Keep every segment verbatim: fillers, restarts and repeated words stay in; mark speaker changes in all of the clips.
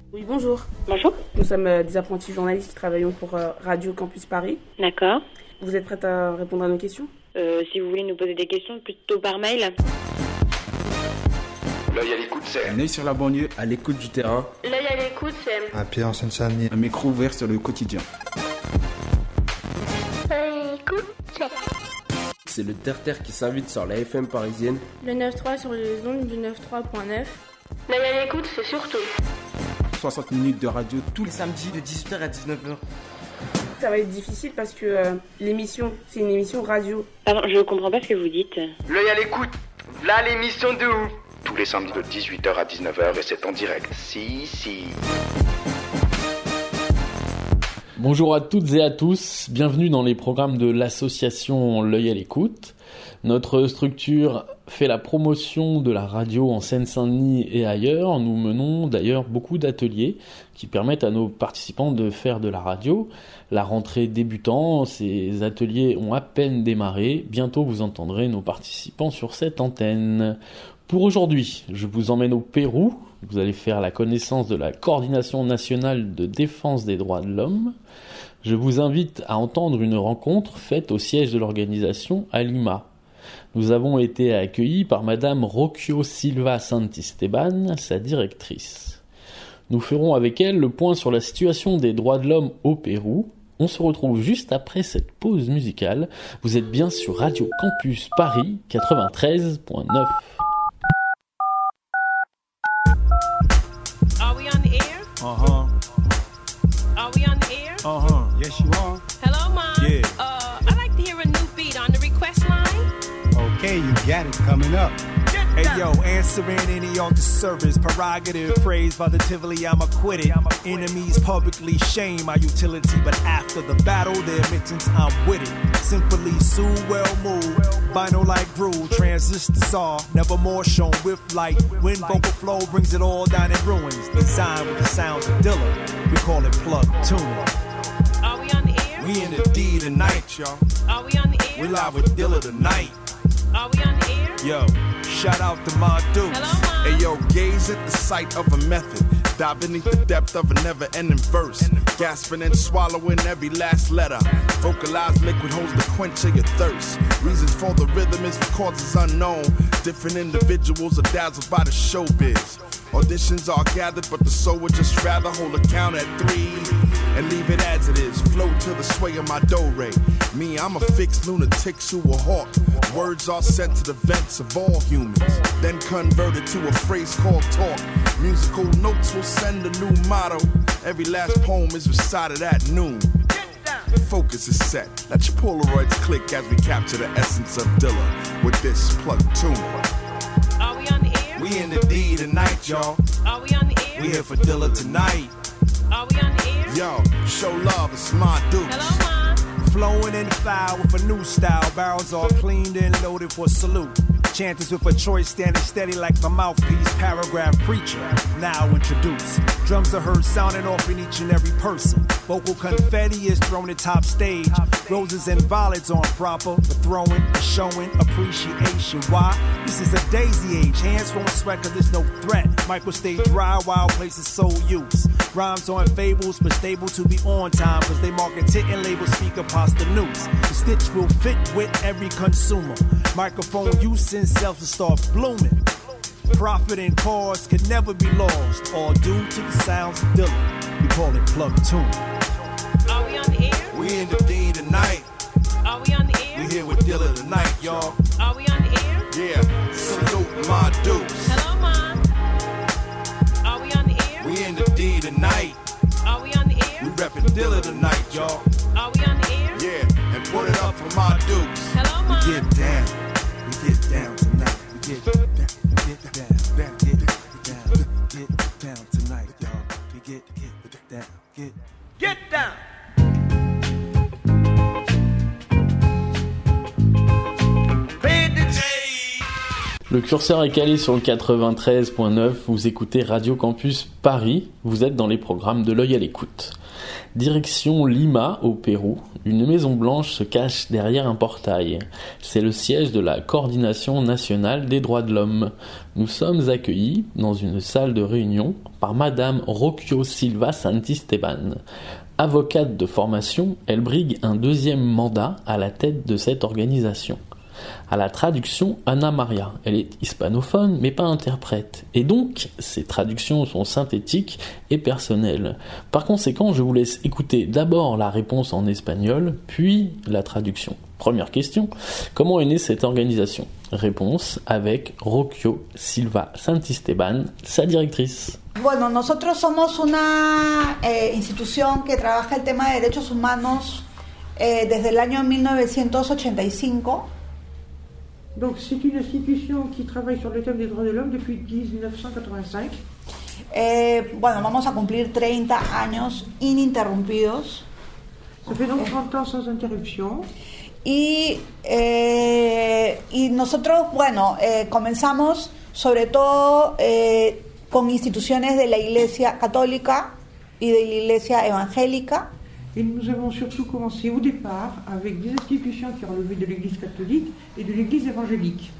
Speaker 1: Oui, bonjour.
Speaker 2: Bonjour.
Speaker 1: Nous sommes euh, des apprentis journalistes qui travaillons pour euh, Radio Campus Paris.
Speaker 2: D'accord.
Speaker 1: Vous êtes prête à répondre à nos questions ?
Speaker 2: Euh, si vous voulez nous poser des questions, plutôt par mail.
Speaker 3: L'œil à l'écoute, c'est
Speaker 4: Un œil sur la banlieue, à l'écoute du terrain.
Speaker 5: L'œil à l'écoute, c'est
Speaker 6: un pied en Seine-Saint-Denis.
Speaker 4: Un micro ouvert sur le quotidien.
Speaker 5: L'œil à l'écoute, c'est
Speaker 7: C'est le terre-terre qui s'invite sur la F M parisienne.
Speaker 8: Le neuf trois sur les ondes du quatre-vingt-treize point neuf.
Speaker 5: L'œil à l'écoute, c'est surtout
Speaker 4: soixante minutes de radio tous les
Speaker 9: samedis de dix-huit heures à dix-neuf heures.
Speaker 1: Ça va être difficile parce que euh, l'émission, c'est une émission radio.
Speaker 2: Pardon, je comprends pas ce que vous dites.
Speaker 9: L'œil à l'écoute, là l'émission de ouf.
Speaker 3: tous les samedis de dix-huit heures à dix-neuf heures et c'est en direct. Si, si.
Speaker 10: Bonjour à toutes et à tous, bienvenue dans les programmes de l'association L'œil à l'écoute. Notre structure fait la promotion de la radio en Seine-Saint-Denis et ailleurs. Nous menons d'ailleurs beaucoup d'ateliers qui permettent à nos participants de faire de la radio. La rentrée débutant, ces ateliers ont à peine démarré. Bientôt vous entendrez nos participants sur cette antenne. Pour aujourd'hui, je vous emmène au Pérou. Vous allez faire la connaissance de la Coordination nationale de défense des droits de l'homme. Je vous invite à entendre une rencontre faite au siège de l'organisation à Lima. Nous avons été accueillis par Madame Rocio Silva Santisteban, sa directrice. Nous ferons avec elle le point sur la situation des droits de l'homme au Pérou. On se retrouve juste après cette pause musicale. Vous êtes bien sur Radio Campus Paris quatre-vingt-treize point neuf.
Speaker 11: Are we on the air?
Speaker 12: Uh-huh.
Speaker 11: Are we on the air?
Speaker 12: Uh-huh. Yes, you are.
Speaker 11: Hello, Mom.
Speaker 12: Yeah.
Speaker 11: Uh, I'd like to hear a new beat on the request line.
Speaker 12: Okay, you got it coming up. Hey yo, answering any on the service, prerogative, praise positively, I'm acquitted. Enemies publicly shame my utility, but after the battle, their admittance, I'm with it. Simply sue, well moved, vinyl like groove, transistors are never more shown with light. When vocal flow brings it all down in ruins, designed with the sounds of Dilla, we call it plug tuning.
Speaker 11: Are we on the air?
Speaker 12: We in the D tonight, y'all.
Speaker 11: Are we on the air?
Speaker 12: We live with Dilla tonight.
Speaker 11: Are we on the air?
Speaker 12: Yo, shout out to my dudes.
Speaker 11: Hello, Mom.
Speaker 13: Hey yo, gaze at the sight of a method. Dive beneath the depth of a never-ending verse. Gasping and swallowing every last letter. Vocalized liquid holds the quench of your thirst. Reasons for the rhythm is for causes unknown. Different individuals are dazzled by the showbiz. Auditions are gathered, but the soul would just rather hold a count at three and leave it as it is. Flow to the sway of my do-re. Me, I'm a fixed lunatic to a hawk. Words are sent to the vents of all humans, then converted to a phrase called talk. Musical notes will send a new motto. Every last poem is recited at noon. Focus is set. Let your Polaroids click as we capture the essence of Dilla with this plug tune.
Speaker 11: Are we on the air?
Speaker 12: We in the D tonight, y'all.
Speaker 11: Are we on the air?
Speaker 12: We here for Dilla tonight.
Speaker 11: Are we on the air?
Speaker 13: Yo, show love, it's my dudes.
Speaker 11: Hello, Mom.
Speaker 12: Flowing in the fire with a new style. Barrels all cleaned and loaded for salute. Chanters with a choice standing steady like the mouthpiece. Paragraph preacher, now introduced. Drums are heard sounding off in each and every person. Vocal confetti is thrown at top stage. Roses and violets on proper. The throwing, the showing, appreciation. Why? This is a daisy age. Hands won't sweat cause there's no threat. Mic will stay dry while places soul use. Rhymes on fables but stable to be on time. Cause they market it and label speaker pasta news. The stitch will fit with every consumer. Microphone use and self to start blooming. Profit and cause could never be lost. All due to the sounds of Dilla. We call it plug tune.
Speaker 11: Are we on the air?
Speaker 12: We in the D tonight.
Speaker 11: Are we on the air?
Speaker 12: We here with Dilla tonight, y'all.
Speaker 11: Are we on the air?
Speaker 13: Yeah, salute my dudes.
Speaker 11: Hello, Mom. Are we on the air?
Speaker 12: We in the D tonight.
Speaker 11: Are we on the air?
Speaker 12: We reppin' Dilla tonight, y'all.
Speaker 11: Are we on the air?
Speaker 13: Yeah, and put it up for my dudes.
Speaker 11: Hello, Mom.
Speaker 12: We get down. We get down tonight. We get down. Get down. Down. Get down. Get down tonight, y'all. We get get down. Get
Speaker 9: Get down.
Speaker 10: Le curseur est calé sur le quatre-vingt-treize point neuf, vous écoutez Radio Campus Paris, vous êtes dans les programmes de l'œil à l'écoute. Direction Lima, au Pérou, une maison blanche se cache derrière un portail. C'est le siège de la Coordination nationale des droits de l'homme. Nous sommes accueillis dans une salle de réunion par Madame Rocio Silva Santisteban. Avocate de formation, elle brigue un deuxième mandat à la tête de cette organisation. À la traduction, Anna Maria. Elle est hispanophone, mais pas interprète. Et donc, ses traductions sont synthétiques et personnelles. Par conséquent, je vous laisse écouter d'abord la réponse en espagnol, puis la traduction. Première question, comment est née cette organisation? Réponse avec Rocio Silva Santisteban, sa directrice.
Speaker 6: Bueno, nosotros somos una eh, institución que trabaja el tema de derechos humanos eh, desde el año mil novecientos ochenta y cinco.
Speaker 14: Donc c'est une institution qui travaille sur le thème des droits de l'homme depuis dix-neuf cent quatre-vingt-cinq.
Speaker 6: Eh, bueno, vamos a cumplir treinta años ininterrumpidos.
Speaker 14: Ça fait donc trente ans sans interruption.
Speaker 6: Y, eh, y nosotros, bueno, eh, comenzamos sobre todo eh, con instituciones de la Iglesia Católica y de la Iglesia Evangélica.
Speaker 14: Et nous avons surtout commencé au départ avec des institutions qui relevaient de l'Église catholique et de l'Église évangélique.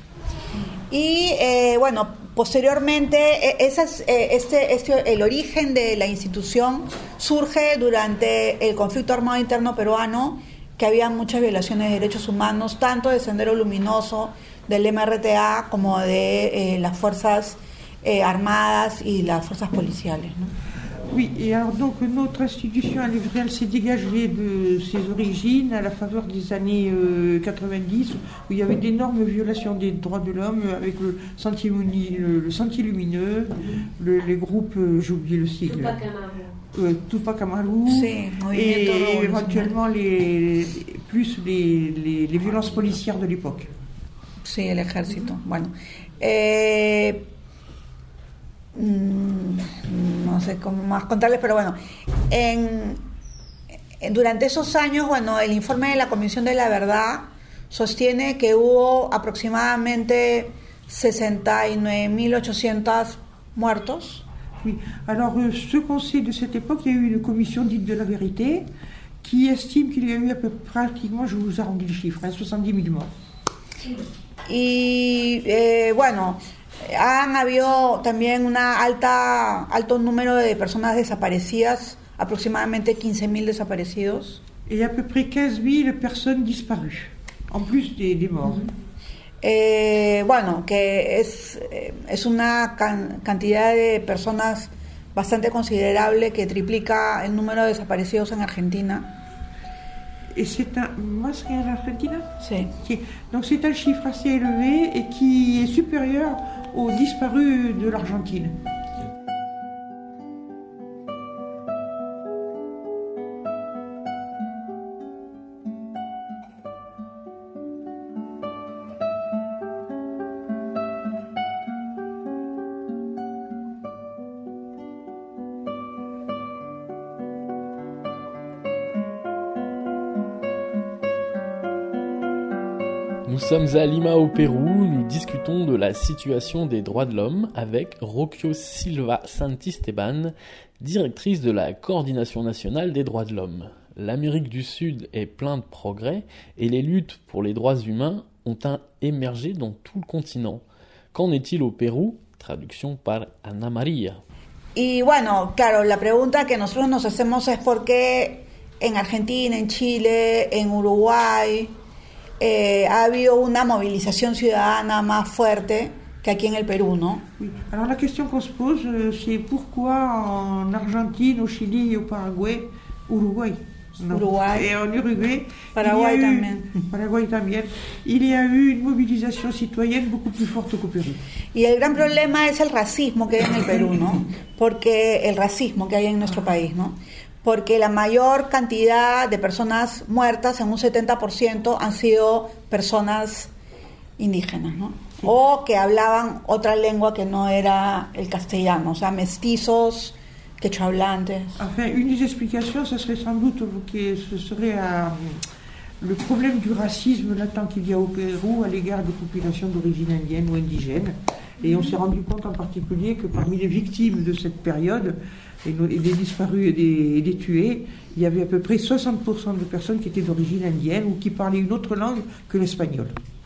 Speaker 6: Y eh, bueno, posteriormente esas, eh, este, este, el origen de la institución surge durante el conflicto armado interno peruano, que había muchas violaciones de derechos humanos, tanto de Sendero Luminoso, del M R T A, como de eh, las fuerzas eh, armadas y las fuerzas policiales, ¿no?
Speaker 14: Oui, et alors donc notre institution, elle, elle s'est dégagée de ses origines à la faveur des années euh, quatre-vingt-dix, où il y avait d'énormes violations des droits de l'homme avec le Sentier, le, le Sentier Lumineux, le, les groupes, euh, j'ai oublié le sigle, Tupac Amaru, euh, Tupac Amaru,
Speaker 6: sí,
Speaker 14: et, et éventuellement les, plus les, les, les violences policières de l'époque.
Speaker 6: Sí, el ejército. Bueno, eh, no sé cómo más contarles, pero bueno, en, en, durante esos años, bueno, el informe de la Comisión de la Verdad sostiene que hubo aproximadamente sesenta y nueve mil ochocientos muertos.
Speaker 14: Oui, alors euh, ce qu'on sait de cette époque, il y a eu une commission dite de la vérité qui estime qu'il y a eu à peu pratiquement, je vous arrondis le chiffre, hein, soixante-dix mille morts.
Speaker 6: Y eh, bueno, han habido también un alto número de personas desaparecidas, aproximadamente quinze mil desaparecidos.
Speaker 14: Et à peu près quinze mille personnes disparues, en plus des, des morts.
Speaker 6: Eh, bueno, que es, es una can, cantidad de personas bastante considerable que triplica el número de desaparecidos en Argentina.
Speaker 14: Et c'est un... Más qu'en Argentina?
Speaker 6: Sí.
Speaker 14: Okay. Donc c'est un chiffre assez élevé et qui est supérieur aux disparus de l'Argentine.
Speaker 10: Nous sommes à Lima au Pérou, nous discutons de la situation des droits de l'homme avec Rocio Silva Santisteban, directrice de la Coordination nationale des droits de l'homme. L'Amérique du Sud est pleine de progrès et les luttes pour les droits humains ont un émergé dans tout le continent. Qu'en est-il au Pérou? Traduction par Ana María.
Speaker 6: Y bueno, claro, la pregunta que nosotros nos hacemos es por qué en Argentina, en Chile, en Uruguay eh, ha habido una movilización ciudadana más fuerte que aquí en el Perú, ¿no?
Speaker 14: Oui. Alors la question qu'on se pose, c'est pourquoi en Argentine, au Chili et au Paraguay, Uruguay, non.
Speaker 6: Uruguay.
Speaker 14: Et en Uruguay,
Speaker 6: Paraguay
Speaker 14: il y a eu,
Speaker 6: también.
Speaker 14: Paraguay también, il y a eu une mobilisation citoyenne beaucoup plus forte qu'au Pérou.
Speaker 6: Y el gran problema es el racismo que hay en el Perú, ¿no? Porque el racismo que hay en nuestro país, ¿no? Porque la mayor cantidad de personas muertas, en un setenta por ciento, han sido personas indígenas, ¿no? Sí. O que hablaban otra lengua que no era el castellano, o sea, mestizos, quechohablantes.
Speaker 14: Enfin, une des explications, ce serait sans doute que ce serait à, le problème du racisme latent qu'il y a au Pérou à l'égard des populations d'origine indienne ou indigène. Et on s'est rendu compte en particulier que parmi les victimes de cette période, et des disparus et des, et des tués, il y avait à peu près soixante pour cent de personnes qui étaient d'origine indienne ou qui parlaient une autre langue que l'espagnol.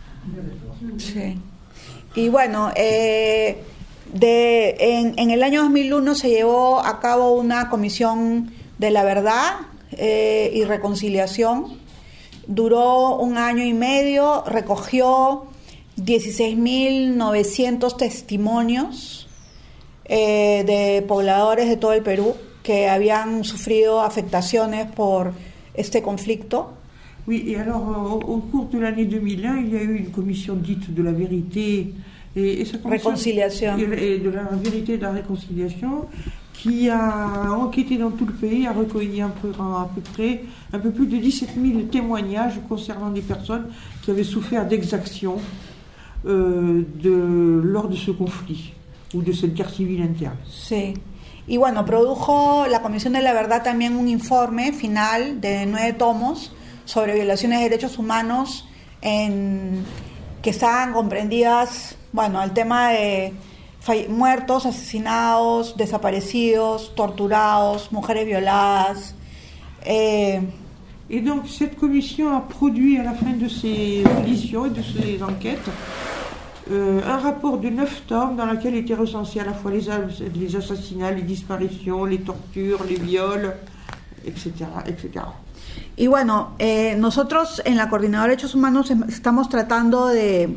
Speaker 6: Sí. Y bueno, eh, de, en, en el año dos mil uno se llevó a cabo una comisión de la verdad eh, y reconciliación. Duró un año y medio, recogió dieciséis mil novecientos testimonios eh, de pobladores de todo el Perú que habían sufrido afectaciones por este conflicto.
Speaker 14: Oui, et alors au, au cours de l'année deux mille un, il y a eu une commission dite de la vérité et, et ça
Speaker 6: réconciliation.
Speaker 14: Et de la vérité et de la réconciliation qui a enquêté dans tout le pays, a recueilli un peu, à peu près un peu plus de dix-sept mille témoignages concernant des personnes qui avaient souffert d'exactions euh, de, lors de ce conflit ou de cette guerre civile interne.
Speaker 6: Sí. Y bueno, produjo la Comisión de la Verdad también un informe final de nueve tomos sobre violaciones de derechos humanos en, que estaban comprendidas, bueno, el tema de muertos, asesinados, desaparecidos, torturados, mujeres violadas. Eh,
Speaker 14: Et donc cette commission a produit à la fin de ses auditions et de ses enquêtes euh, un rapport de neuf tomes dans lequel étaient recensés à la fois les, les assassinats, les disparitions, les tortures, les viols, et cetera, et cetera.
Speaker 6: Y bueno, eh, nosotros en la Coordinadora de Derechos Humanos estamos tratando de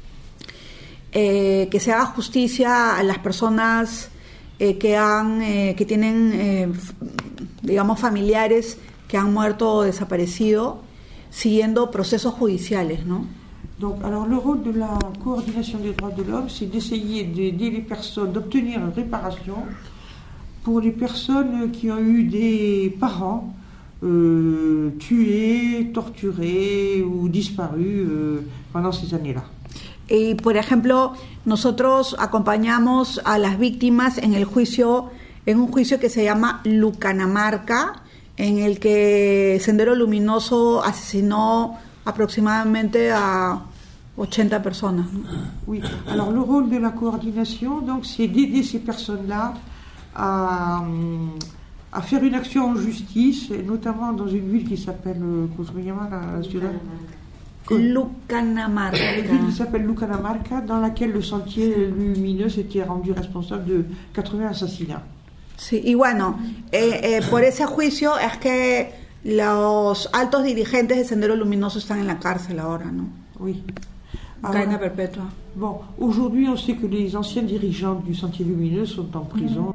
Speaker 6: eh, que se haga justicia a las personas eh, que han, eh, que tienen, eh, digamos, familiares que han muerto o desaparecido, siguiendo procesos judiciales, ¿no?
Speaker 14: Donc, alors le rôle de la coordination des droits de l'homme, c'est d'essayer d'aider les personnes, d'obtenir une réparation pour les personnes qui ont eu des parents Euh, tués, torturés ou disparus euh, pendant ces années-là.
Speaker 6: Y por ejemplo, nosotros acompañamos a las víctimas en el juicio, en un juicio que se llama Lucanamarca, en el que Sendero Luminoso asesinó aproximadamente a ochenta personas.
Speaker 14: Oui, alors le rôle de la coordination, donc, c'est d'aider ces personnes-là à à faire une action en justice, et notamment dans une ville qui s'appelle, comment se llama la ciudad?
Speaker 6: Lucanamarca.
Speaker 14: Une ville qui s'appelle Lucanamarca, dans laquelle le Sentier Lumineux s'était rendu responsable de quatre-vingts assassinats.
Speaker 6: Sí, y bueno, eh, eh, por ese juicio es que los altos dirigentes de Sendero Luminoso están en la cárcel ahora, ¿no?
Speaker 14: Oui.
Speaker 6: Cadena perpetua.
Speaker 14: Bon, aujourd'hui, on sait que les anciens dirigeants du Sentier Lumineux sont en prison.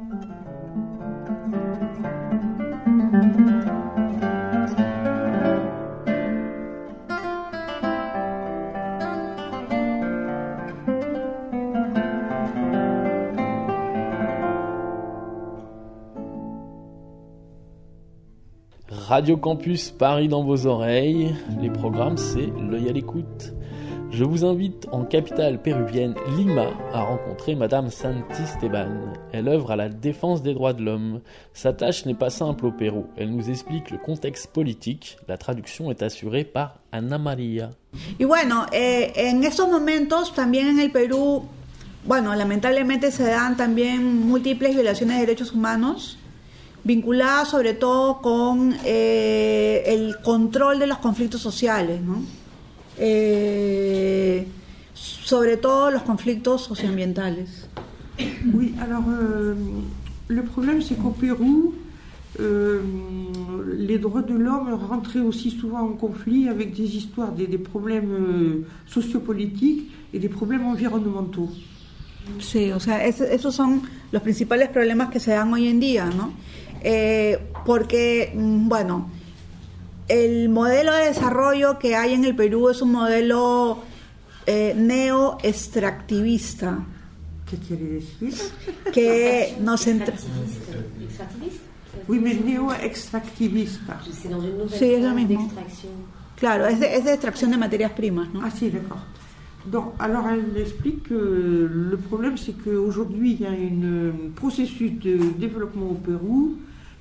Speaker 10: Radio Campus Paris dans vos oreilles. Les programmes, c'est l'œil à l'écoute. Je vous invite en capitale péruvienne Lima à rencontrer Madame Santisteban. Elle œuvre à la défense des droits de l'homme. Sa tâche n'est pas simple au Pérou. Elle nous explique le contexte politique. La traduction est assurée par Ana María.
Speaker 6: Y bueno, eh, en estos momentos también en el Perú, bueno, lamentablemente se dan también múltiples violaciones de derechos humanos, vinculadas sobre todo con eh, el control de los conflictos sociales, ¿no? Eh, sobre todo los conflictos socioambientales.
Speaker 14: Oui, alors euh, le problème c'est qu'au Pérou, euh, les droits de l'homme rentraient aussi souvent en conflit avec des histoires, des, des problèmes euh, sociopolitiques et des problèmes environnementaux.
Speaker 6: Sí, o sea, es, esos son los principales problemas que se dan hoy en día, ¿no? Eh, porque, bueno, el modelo de desarrollo que hay en el Perú es un modelo eh, neo-extractivista.
Speaker 14: ¿Qué quiere decir?
Speaker 6: Que nos entra...
Speaker 15: ¿Extractivista?
Speaker 14: Oui, mais neo-extractivista.
Speaker 15: C'est dans une nouvelle
Speaker 6: sí, es lo
Speaker 15: forme
Speaker 6: mismo.
Speaker 15: d'extraction.
Speaker 6: Claro, es de, es de extracción de materias primas, ¿no?
Speaker 14: Ah si, d'accord. Donc, alors elle explique que le problème c'est qu'aujourd'hui il y a un processus de développement au Pérou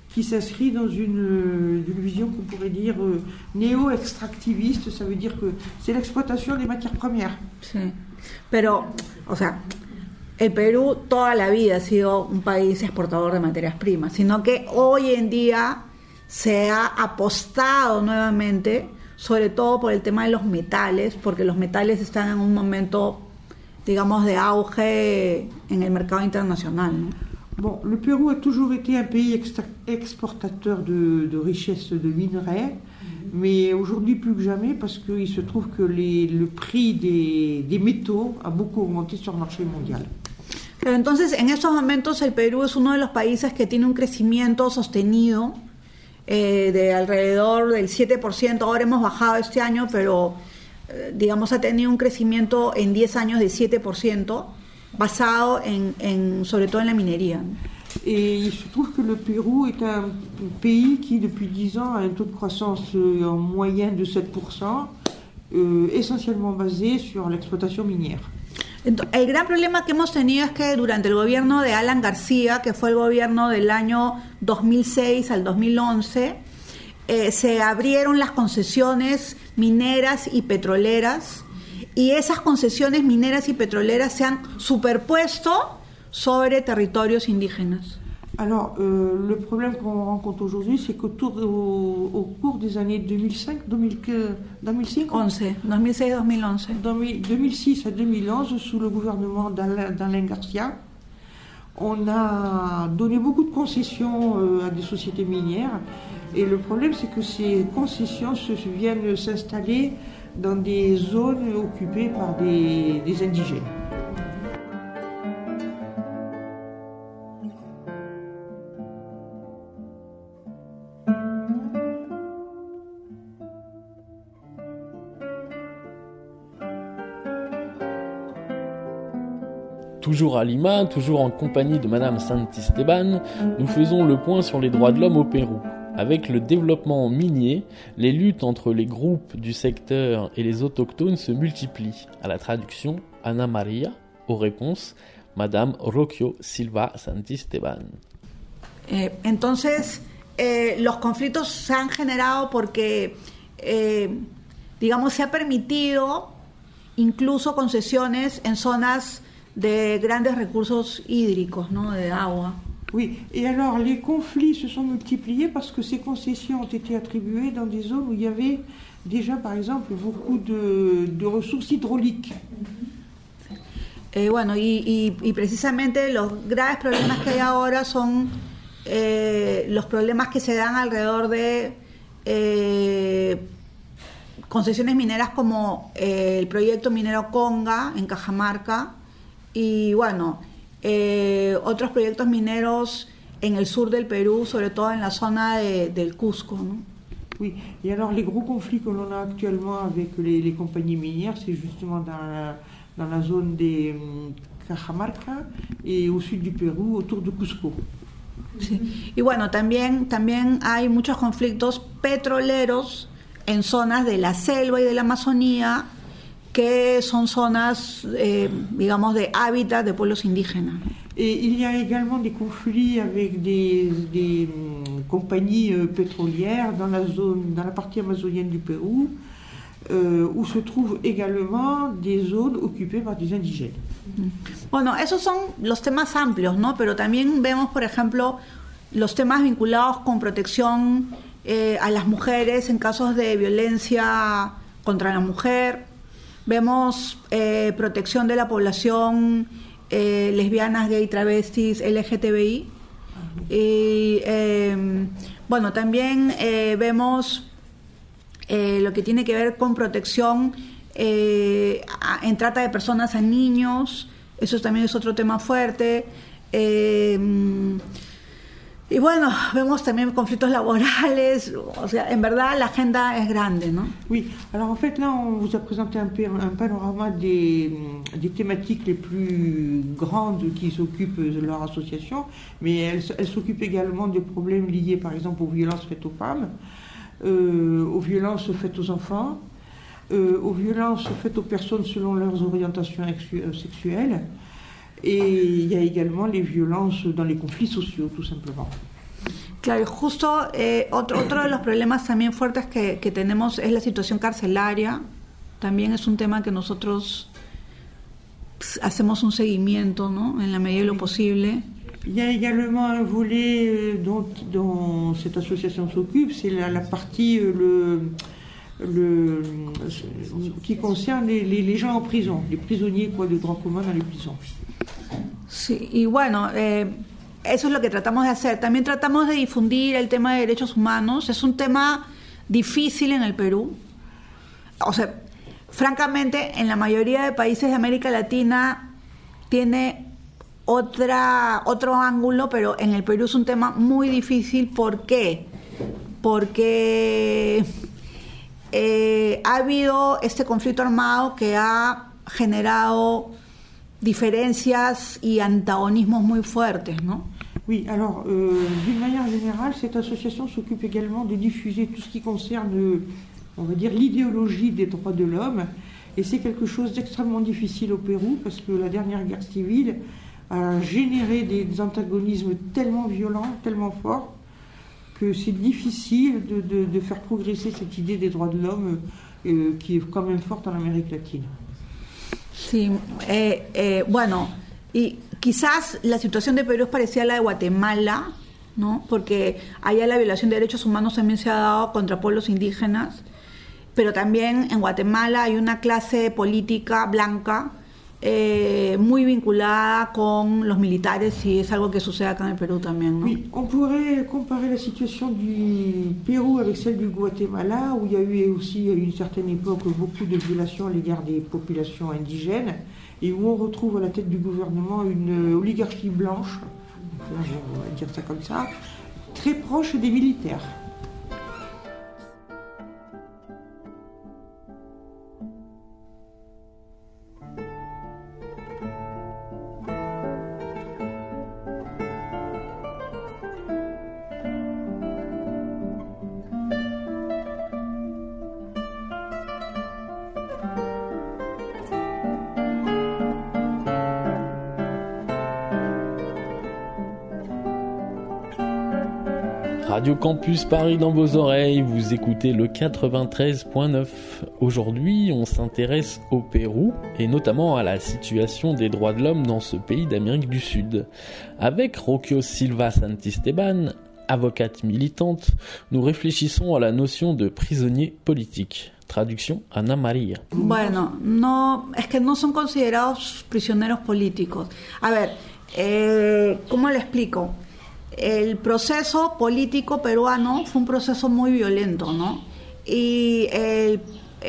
Speaker 14: qui s'inscrit dans une, une vision qu'on pourrait dire euh, néo-extractiviste. Ça veut dire que c'est l'exploitation des matières premières.
Speaker 6: Sí. Pero, o sea, el Perú toda la vida ha sido un país exportador de materias primas, sino que hoy en día se ha apostado nuevamente, sobre todo por el tema de los metales, porque los metales están en un momento, digamos, de auge en el mercado internacional, ¿no?
Speaker 14: Bon, le Pérou a toujours été un pays extra- exportateur de, de richesses de minerais, mais aujourd'hui plus que jamais parce qu'il se trouve que les, le prix des, des métaux a beaucoup augmenté sur le marché mondial.
Speaker 6: Pero entonces, en estos momentos, el Perú es uno de los países que tiene un crecimiento sostenido eh, de alrededor del siete por ciento. Ahora hemos bajado este año, pero eh, digamos ha tenido un crecimiento en diez años de siete por ciento, basado en, en, sobre todo en la minería.
Speaker 14: Et il se trouve que le Pérou est un pays qui, depuis dix ans, a un taux de croissance en moyenne de sept pour cent, euh, essentiellement basé sur l'exploitation minière.
Speaker 6: El gran problema que hemos tenido es que durante el gobierno de Alan García, que fue el gobierno del año dos mil seis al dos mil once, eh, se abrieron las concesiones mineras y petroleras, y esas concesiones mineras y petroleras se han superpuesto sobre territorios indígenas.
Speaker 14: Alors, euh, le problème qu'on rencontre aujourd'hui, c'est qu'au au, au cours des années deux mille cinq, deux mille, deux mille cinq,
Speaker 6: once, deux mille six, deux mille onze.
Speaker 14: deux mille six à deux mille onze, sous le gouvernement d'Alain, d'Alain Garcia, on a donné beaucoup de concessions euh, à des sociétés minières. Et le problème, c'est que ces concessions se, viennent s'installer dans des zones occupées par des, des indigènes.
Speaker 10: Toujours à Lima, toujours en compagnie de Madame Santisteban, nous faisons le point sur les droits de l'homme au Pérou. Avec le développement minier, les luttes entre les groupes du secteur et les autochtones se multiplient. À la traduction, Ana María, aux réponses, Madame Rocio Silva Santisteban.
Speaker 6: Eh, entonces, eh, los conflictos se han generado porque, eh, digamos, se ha permitido incluso concesiones en zonas de grandes recursos hídricos, ¿no? De agua.
Speaker 14: Oui, et alors les conflits se sont multipliés parce que ces concessions ont été attribuées dans des zones où il y avait déjà, par exemple, beaucoup de, de ressources hydrauliques.
Speaker 6: Eh, bueno, y, y, y precisamente los graves problemas que hay ahora son eh, los problemas que se dan alrededor de eh, concesiones mineras como eh, el proyecto minero Conga en Cajamarca, y bueno, eh, otros proyectos mineros en el sur del Perú, sobre todo en la zona de, del Cusco, ¿no?
Speaker 14: Oui, et alors les gros conflits que l'on a actuellement avec les, les compagnies minières, c'est justement dans la, dans la zone des um, Cajamarca et au sud du Pérou, autour de Cusco.
Speaker 6: Sí. Y bueno, también, también hay muchos conflictos petroleros en zonas de la selva y de la Amazonía, que son zonas, eh, digamos, de hábitat de pueblos indígenas.
Speaker 14: Et il y a également des conflits avec des, des um, compagnies euh, pétrolières dans la zone, dans la partie amazonienne du Pérou, euh, où se trouvent également des zones occupées par des indigènes.
Speaker 6: Bueno, esos son los temas amplios, ¿no? Pero también vemos, por ejemplo, los temas vinculados con protección eh, a las mujeres en casos de violencia contra la mujer. Vemos eh, protección de la población eh, lesbianas, gay, travestis, L G T B I. Y eh, bueno, también eh, vemos eh, lo que tiene que ver con protección eh, a, en trata de personas a niños. Eso también es otro tema fuerte. Eh, Y bueno, vemos también conflictos laborales, o sea, en verdad la agenda es grande, ¿no?
Speaker 14: Oui, alors en fait là on vous a présenté un, un panorama des, des thématiques les plus grandes qui s'occupent de leur association, mais elles, elles s'occupent également des problèmes liés par exemple aux violences faites aux femmes, euh, aux violences faites aux enfants, euh, aux violences faites aux personnes selon leurs orientations sexuelles. Et il y a également les violences dans les conflits sociaux, tout simplement.
Speaker 6: Claro, justo eh, otro, otro de los problemas también fuertes que, que tenemos es la situación carcelaria. También es un tema que nosotros pues, hacemos un seguimiento, ¿no? En la medida de lo posible.
Speaker 14: Il y a également un volet dont, dont cette association s'occupe, c'est la, la partie le, le, qui concerne les, les, les gens en prison, les prisonniers quoi, de droit commun dans les prisons.
Speaker 6: Sí, y bueno, eh, eso es lo que tratamos de hacer. También tratamos de difundir el tema de derechos humanos. Es un tema difícil en el Perú. O sea, francamente, en la mayoría de países de América Latina tiene otra, otro ángulo, pero en el Perú es un tema muy difícil. ¿Por qué? Porque eh, ha habido este conflicto armado que ha generado diferencias y antagonismos muy fuertes, ¿no?
Speaker 14: Oui, alors, euh, d'une manière générale, cette association s'occupe également de diffuser tout ce qui concerne, on va dire, l'idéologie des droits de l'homme. Et c'est quelque chose d'extrêmement difficile au Pérou, parce que la dernière guerre civile a généré des, des antagonismes tellement violents, tellement forts, que c'est difficile de, de, de faire progresser cette idée des droits de l'homme euh, qui est quand même forte en Amérique latine.
Speaker 6: Sí, eh, eh, bueno, y quizás la situación de Perú es parecida a la de Guatemala, ¿no? Porque allá la violación de derechos humanos también se ha dado contra pueblos indígenas, pero también en Guatemala hay una clase política blanca eh, muy vinculada con los militares, y es algo que sucede acá en el Perú también, ¿no?
Speaker 14: Oui, on pourrait comparer la situation du Pérou avec celle du Guatemala, où il y a eu aussi à une certaine époque beaucoup de violations à l'égard des populations indigènes, et où on retrouve à la tête du gouvernement une oligarchie blanche, on va dire ça comme ça, très proche des militaires.
Speaker 10: Radio Campus Paris dans vos oreilles, vous écoutez le quatre-vingt-treize point neuf. Aujourd'hui, on s'intéresse au Pérou et notamment à la situation des droits de l'homme dans ce pays d'Amérique du Sud. Avec Rocio Silva Santisteban, avocate militante, nous réfléchissons à la notion de prisonnier politique. Traducción, Ana María.
Speaker 6: Bueno, no, es que no son considerados prisioneros políticos. A ver, eh, ¿cómo le explico? El proceso político peruano fue un proceso muy violento, ¿no? Y el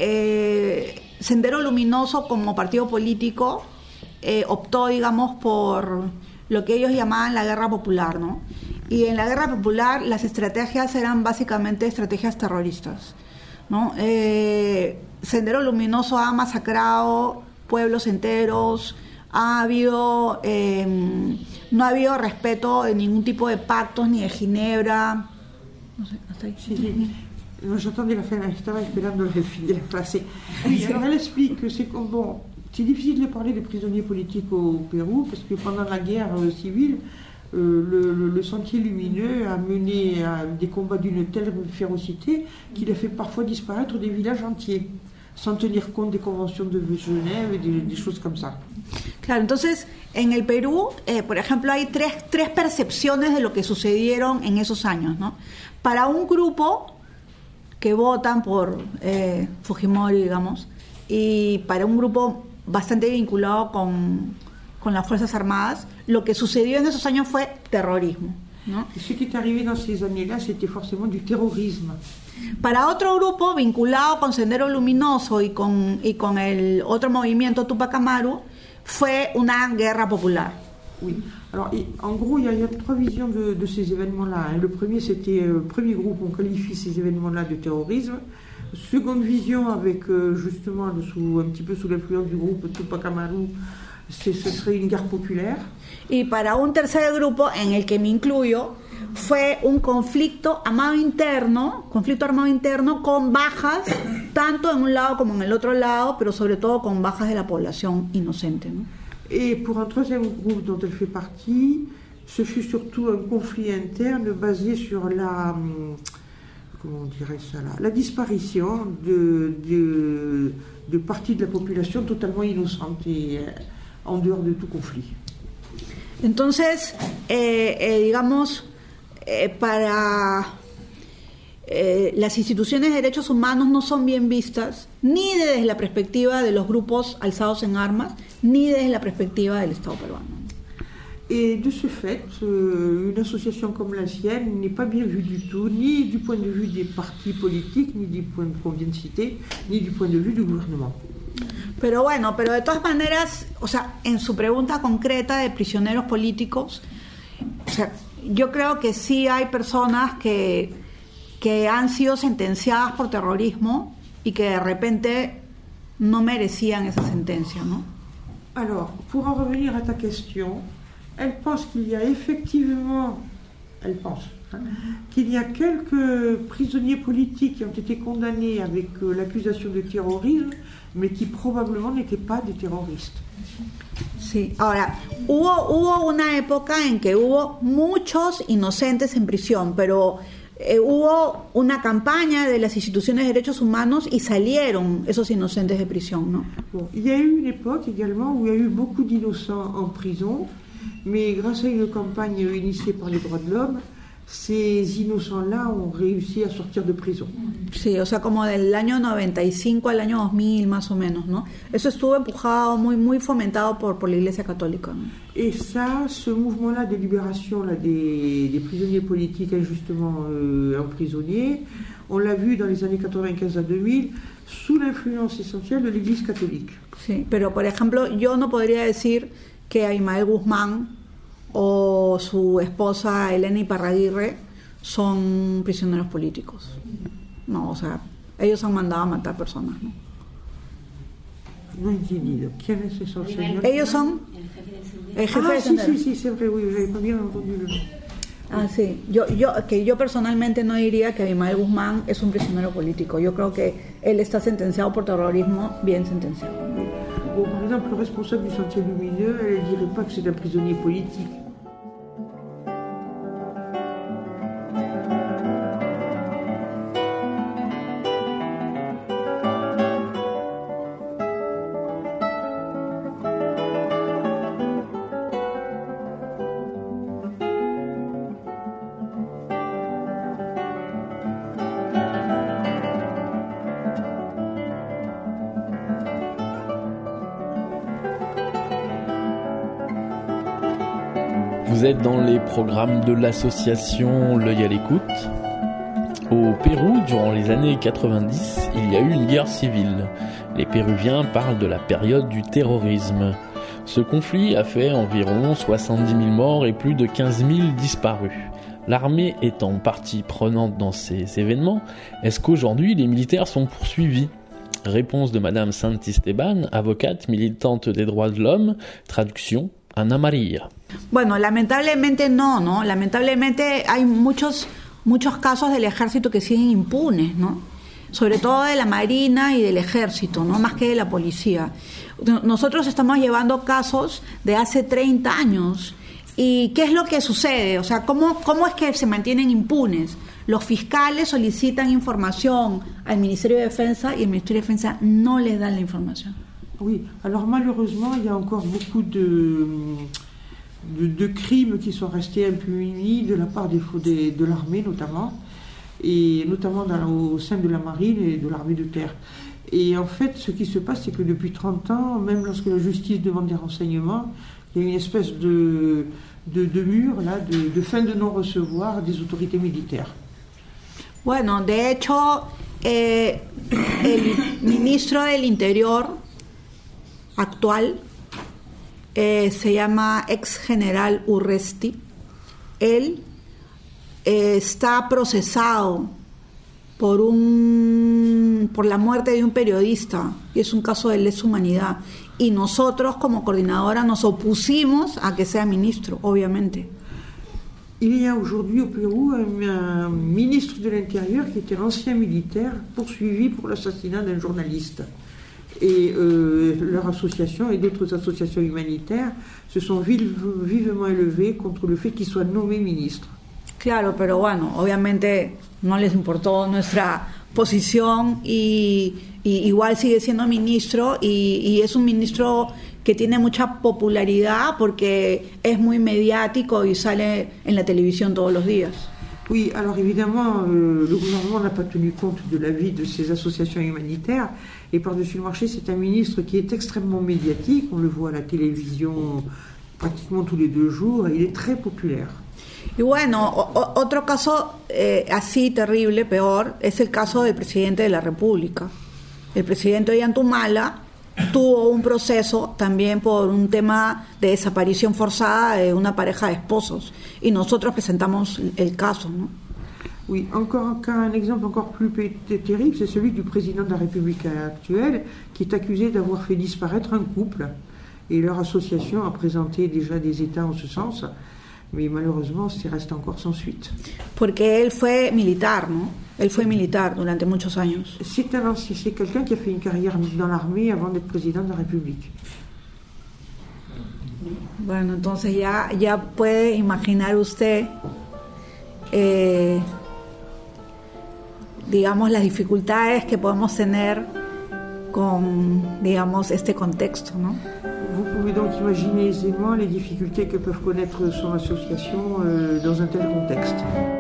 Speaker 6: eh, Sendero Luminoso como partido político eh, optó, digamos, por lo que ellos llamaban la guerra popular, ¿no? Y en la guerra popular las estrategias eran básicamente estrategias terroristas, ¿no? Eh, Sendero Luminoso ha masacrado pueblos enteros, ha habido eh, no ha habido respeto de ningún tipo de pactos ni de Ginebra. No sé, hasta ahí.
Speaker 14: Sí, sí. No, j'entendais la fin, estaba esperando el fin de la frase. Oui, alors elle explique que c'est bon, c'est difficile de parler des prisonniers politiques au Pérou parce que pendant la guerre civile, euh, le, le, le Sentier Lumineux a mené à des combats d'une telle férocité qu'il a fait parfois disparaître des villages entiers, sans tenir compte des conventions de Genève et des, des choses comme ça.
Speaker 6: Claro, entonces en el Perú, eh, por ejemplo, hay tres, tres percepciones de lo que sucedieron en esos años, ¿no? Para un grupo que votan por eh, Fujimori, digamos, y para un grupo bastante vinculado con, con las Fuerzas Armadas, lo que sucedió en esos años fue terrorismo, ¿no?
Speaker 14: Et ce qui est arrivé dans ces années-là, c'était forcément du terrorisme.
Speaker 6: Para otro grupo vinculado con Sendero Luminoso y con, y con el otro movimiento Tupac Amaru, fue una guerra popular.
Speaker 14: Oui. Alors, en gros, il y, y a trois visions de, de ces événements-là. Le premier, c'était le premier groupe, on qualifie ces événements-là de terrorisme. Seconde vision, avec justement sous, un petit peu sous l'influence du groupe Tupac Amaru, ce serait une guerre populaire.
Speaker 6: Y para un tercer grupo, en el que me incluyo, fue un conflicto armado interno, conflicto armado interno con bajas, tanto en un lado como en el otro lado, pero sobre todo con bajas de la población inocente, ¿no?
Speaker 14: Et pour un troisième groupe dont elle fait partie, ce fut surtout un conflit interne basé sur la, comment on dirait ça là, la disparition de, de, de parties de la population totalement innocente et en dehors de tout conflit.
Speaker 6: Entonces, eh, eh, digamos, eh, para eh, las instituciones de derechos humanos no son bien vistas ni desde la perspectiva de los grupos alzados en armas, ni desde la perspectiva del Estado peruano.
Speaker 14: Et de ce fait, euh, une association comme la sienne n'est pas bien vue du tout, ni du point de vue des partis politiques, ni du point qu'on vient de citer, ni du point de vue du gouvernement.
Speaker 6: Pero bueno, pero de todas maneras, o sea, en su pregunta concreta de prisioneros políticos, o sea, yo creo que sí hay personas que, que han sido sentenciadas por terrorismo y que de repente no merecían esa sentencia, ¿no?
Speaker 14: Alors, pour en revenir à ta question, elle pense qu'il y a effectivement, elle pense, hein, qu'il y a quelques prisonniers politiques qui ont été condamnés avec euh, l'accusation de terrorisme, mais qui probablement n'étaient pas des terroristes.
Speaker 6: Sí, ahora, hubo, hubo una época en que hubo muchos inocentes en prisión, pero eh, hubo una campaña de las instituciones de derechos humanos y salieron esos inocentes de prisión, ¿no?
Speaker 14: Bon, il y a eu une époque également où il y a eu beaucoup d'innocents en prison, mais grâce à une campagne initiée par les droits de l'homme, ces innocents-là ont réussi à sortir de prison.
Speaker 6: Sí, o sea, como del año noventa y cinco al año dos mil más o menos, ¿no? Eso estuvo empujado, muy muy fomentado por, por la Iglesia Católica, ¿no?
Speaker 14: Et ça, ce mouvement-là de libération là, des, des prisonniers politiques injustement euh, emprisonnés, on l'a vu dans les années quatre-vingt-quinze à deux mille, sous l'influence essentielle de l'Église catholique.
Speaker 6: Sí, pero por ejemplo, yo no podría decir que Abimael Guzmán o su esposa Elena Iparraguirre son prisioneros políticos. No, o sea, ellos han mandado a matar personas, ¿no?
Speaker 14: No he entendido. ¿Quién es esos señores?
Speaker 6: Ellos son el jefe
Speaker 14: ah,
Speaker 6: de
Speaker 14: sí, sí, sí, c'est vrai, oui, j'avais pas bien entendu le nom.
Speaker 6: Ah, sí. Yo, yo, que yo personalmente no diría que Abimael Guzmán es un prisionero político. Yo creo que él está sentenciado por terrorismo, bien sentenciado.
Speaker 14: Bon, par exemple, le responsable du Sentier Lumineux, elle ne dirait pas que c'est un prisonnier politique.
Speaker 10: Vous êtes dans les programmes de l'association L'œil à l'écoute. Au Pérou, durant les années quatre-vingt-dix, il y a eu une guerre civile. Les Péruviens parlent de la période du terrorisme. Ce conflit a fait environ soixante-dix mille morts et plus de quinze mille disparus. L'armée étant partie prenante dans ces événements, est-ce qu'aujourd'hui les militaires sont poursuivis ? Réponse de Madame Santisteban, avocate militante des droits de l'homme, traduction Ana María.
Speaker 6: Bueno, lamentablemente no, ¿no? Lamentablemente hay muchos, muchos casos del ejército que siguen impunes, ¿no? Sobre todo de la Marina y del ejército, ¿no? Más que de la policía. Nosotros estamos llevando casos de hace treinta años. ¿Y qué es lo que sucede? O sea, ¿cómo, cómo es que se mantienen impunes? Los fiscales solicitan información al Ministerio de Defensa y el Ministerio de Defensa no les da la información.
Speaker 14: Oui, alors malheureusement, il y a encore beaucoup de, de, de crimes qui sont restés impunis de la part des, des, de l'armée notamment, et notamment dans, au sein de la marine et de l'armée de terre. Et en fait, ce qui se passe, c'est que depuis trente ans, même lorsque la justice demande des renseignements, il y a une espèce de, de, de mur, là, de, de fin de non-recevoir des autorités militaires.
Speaker 6: Bueno, de hecho, eh, el ministro del Interior actual eh, se llama ex general Urresti. Él eh, está procesado por un por la muerte de un periodista, y es un caso de lesa humanidad, y nosotros como coordinadora nos opusimos a que sea ministro, obviamente.
Speaker 14: Il y a aujourd'hui au Pérou un, un ministre de l'Intérieur qui était l'ancien militaire poursuivi pour l'assassinat d'un journaliste. Et euh, leur association et d'autres associations humanitaires se sont vive, vivement élevées contre le fait qu'ils soient nommés ministres.
Speaker 6: Claro, pero bueno, obviamente no les importó nuestra posición y, y igual sigue siendo ministro y, y es un ministro que tiene mucha popularidad porque es muy mediático y sale en la televisión todos los días.
Speaker 14: Oui, alors évidemment, euh, le gouvernement n'a pas tenu compte de l'avis de ces associations humanitaires et par-dessus le marché, c'est un ministre qui est extrêmement médiatique, on le voit à la télévision pratiquement tous les deux jours et il est très populaire.
Speaker 6: Y bueno, o, otro caso eh, así terrible, peor, es el caso del presidente de la República. El presidente Ollanta tuvo un proceso también por un tema de desaparición forzada de una pareja de esposos y nosotros presentamos el caso, ¿no?
Speaker 14: Oui, encore un exemple encore plus terrible, c'est celui du président de la République actuelle qui est accusé d'avoir fait disparaître un couple et leur association a présenté déjà des états en ce sens. Mais malheureusement, ça reste encore sans suite.
Speaker 6: Porque él fue militar, ¿no? Él fue militar durante muchos años.
Speaker 14: C'est un ancien, c'est quelqu'un qui a fait une carrière dans l'armée avant d'être président de la République.
Speaker 6: Bueno, entonces ya, ya puede imaginar usted, eh, digamos, las dificultades que podemos tener con, digamos, este contexto, ¿no?
Speaker 14: Vous pouvez donc imaginer aisément les difficultés que peuvent connaître son association euh, dans un tel contexte.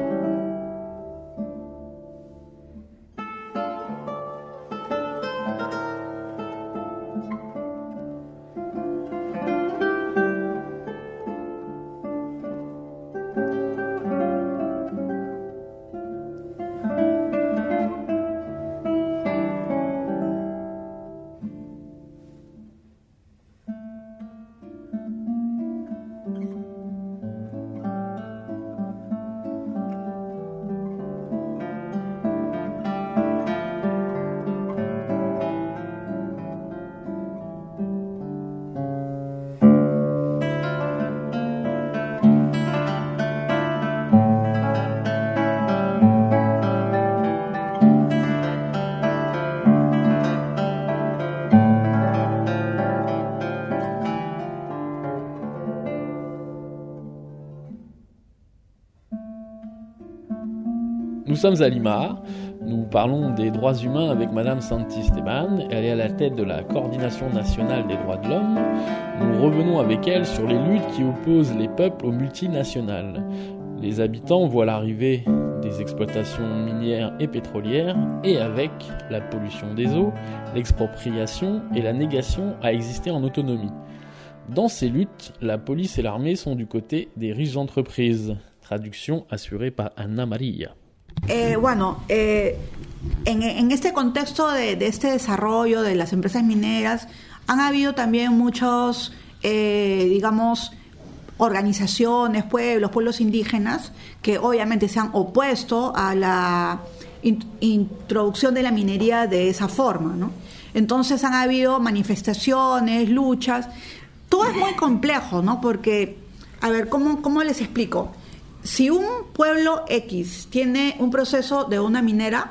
Speaker 10: Nous sommes à Lima, nous parlons des droits humains avec Madame Santisteban, elle est à la tête de la Coordination nationale des droits de l'homme. Nous revenons avec elle sur les luttes qui opposent les peuples aux multinationales. Les habitants voient l'arrivée des exploitations minières et pétrolières et avec la pollution des eaux, l'expropriation et la négation à exister en autonomie. Dans ces luttes, la police et l'armée sont du côté des riches entreprises. Traduction assurée par Ana María.
Speaker 6: Eh, bueno, eh, en, en este contexto de, de este desarrollo de las empresas mineras han habido también muchos, eh, digamos, organizaciones, pueblos, pueblos indígenas que obviamente se han opuesto a la in, introducción de la minería de esa forma, ¿no? Entonces han habido manifestaciones, luchas. Todo es muy complejo, ¿no? Porque, a ver, ¿cómo, cómo les explico? Si un pueblo X tiene un proceso de una minera,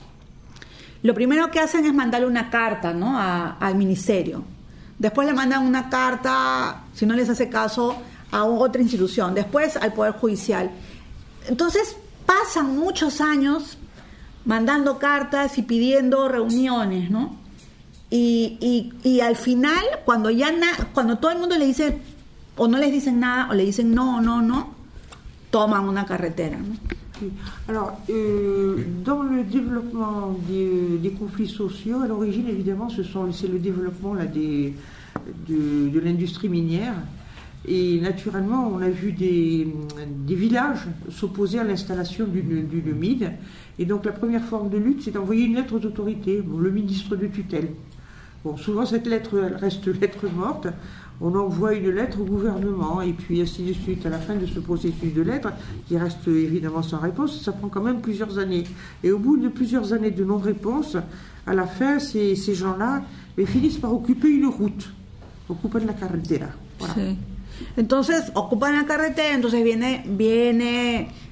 Speaker 6: lo primero que hacen es mandarle una carta, ¿no? a, al ministerio. Después le mandan una carta, si no les hace caso, a otra institución. Después al Poder Judicial. Entonces pasan muchos años mandando cartas y pidiendo reuniones, ¿no? Y, y, y al final, cuando ya na, cuando todo el mundo le dice, o no les dicen nada, o le dicen no, no, no, toman una carretera, ¿no?
Speaker 14: Alors, euh, dans le développement des, des conflits sociaux, à l'origine, évidemment, ce sont, c'est le développement là, des, de, de l'industrie minière. Et naturellement, on a vu des, des villages s'opposer à l'installation d'une, d'une mine. Et donc, la première forme de lutte, c'est d'envoyer une lettre aux autorités, bon, le ministre de tutelle. Bon, souvent, cette lettre elle reste lettre morte. On envoie une lettre au gouvernement et puis ainsi de suite. À la fin de ce processus de lettres, qui reste évidemment sans réponse, ça prend quand même plusieurs années. Et au bout de plusieurs années de non-réponse, à la fin, ces, ces gens-là ils finissent par occuper une route. Ocupan la carretera. Voilà.
Speaker 6: Sí. Entonces, ocupan la carretera, entonces viene, viene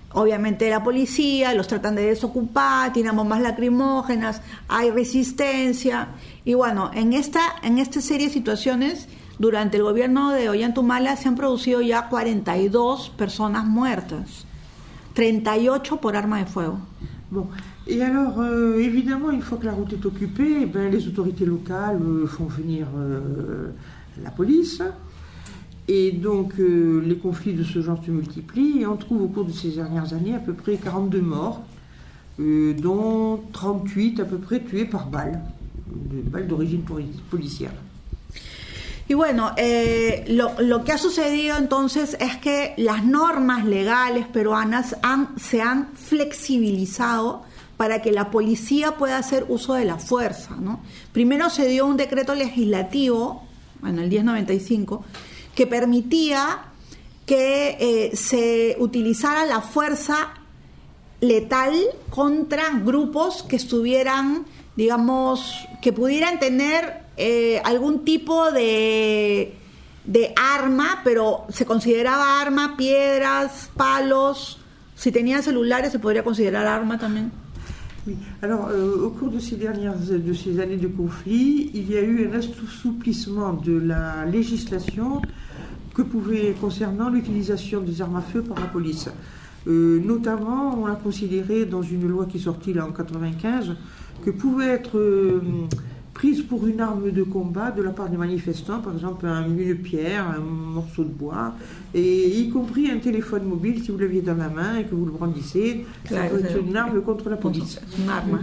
Speaker 6: obviamente la policía, los tratan de desocupar, tiran bombas lacrimógenas, hay resistencia. Y bueno, en esta, en esta serie de situaciones, durante el gobierno de Ollanta se han producido ya cuarenta y dos personas muertas, treinta y ocho por arma de fuego.
Speaker 14: Bon. Et alors, euh, évidemment, une fois que la route est occupée, eh ben, les autorités locales euh, font venir euh, la police. Et donc, euh, les conflits de ce genre se multiplient. Et on trouve au cours de ces dernières années à peu près quarante-deux morts, euh, dont trente-huit à peu près tués par balles, de balles d'origine policière.
Speaker 6: Y bueno, eh, lo, lo que ha sucedido entonces es que las normas legales peruanas han, se han flexibilizado para que la policía pueda hacer uso de la fuerza, ¿no? Primero se dio un decreto legislativo, bueno, el diez noventa y cinco, que permitía que eh, se utilizara la fuerza letal contra grupos que estuvieran, digamos, que pudieran tener eh, algún tipo de, de arma, pero se consideraba arma, piedras, palos. Si tenían celulares se podría considerar arma también.
Speaker 14: Oui. Alors, euh, au cours de ces dernières de ces années de conflit, il y a eu un assouplissement de la législation que pouvait concernant l'utilisation des armes à feu par la police. Euh, notamment, on a considéré dans une loi qui est sortie là en quatre-vingt-quinze que pouvait être euh, prise pour une arme de combat de la part des manifestants, par exemple un, une pierre, un morceau de bois, et y compris un téléphone mobile si vous l'aviez dans la main et que vous le brandissez, claro, ça peut être une arme contre la police.
Speaker 6: Un arma.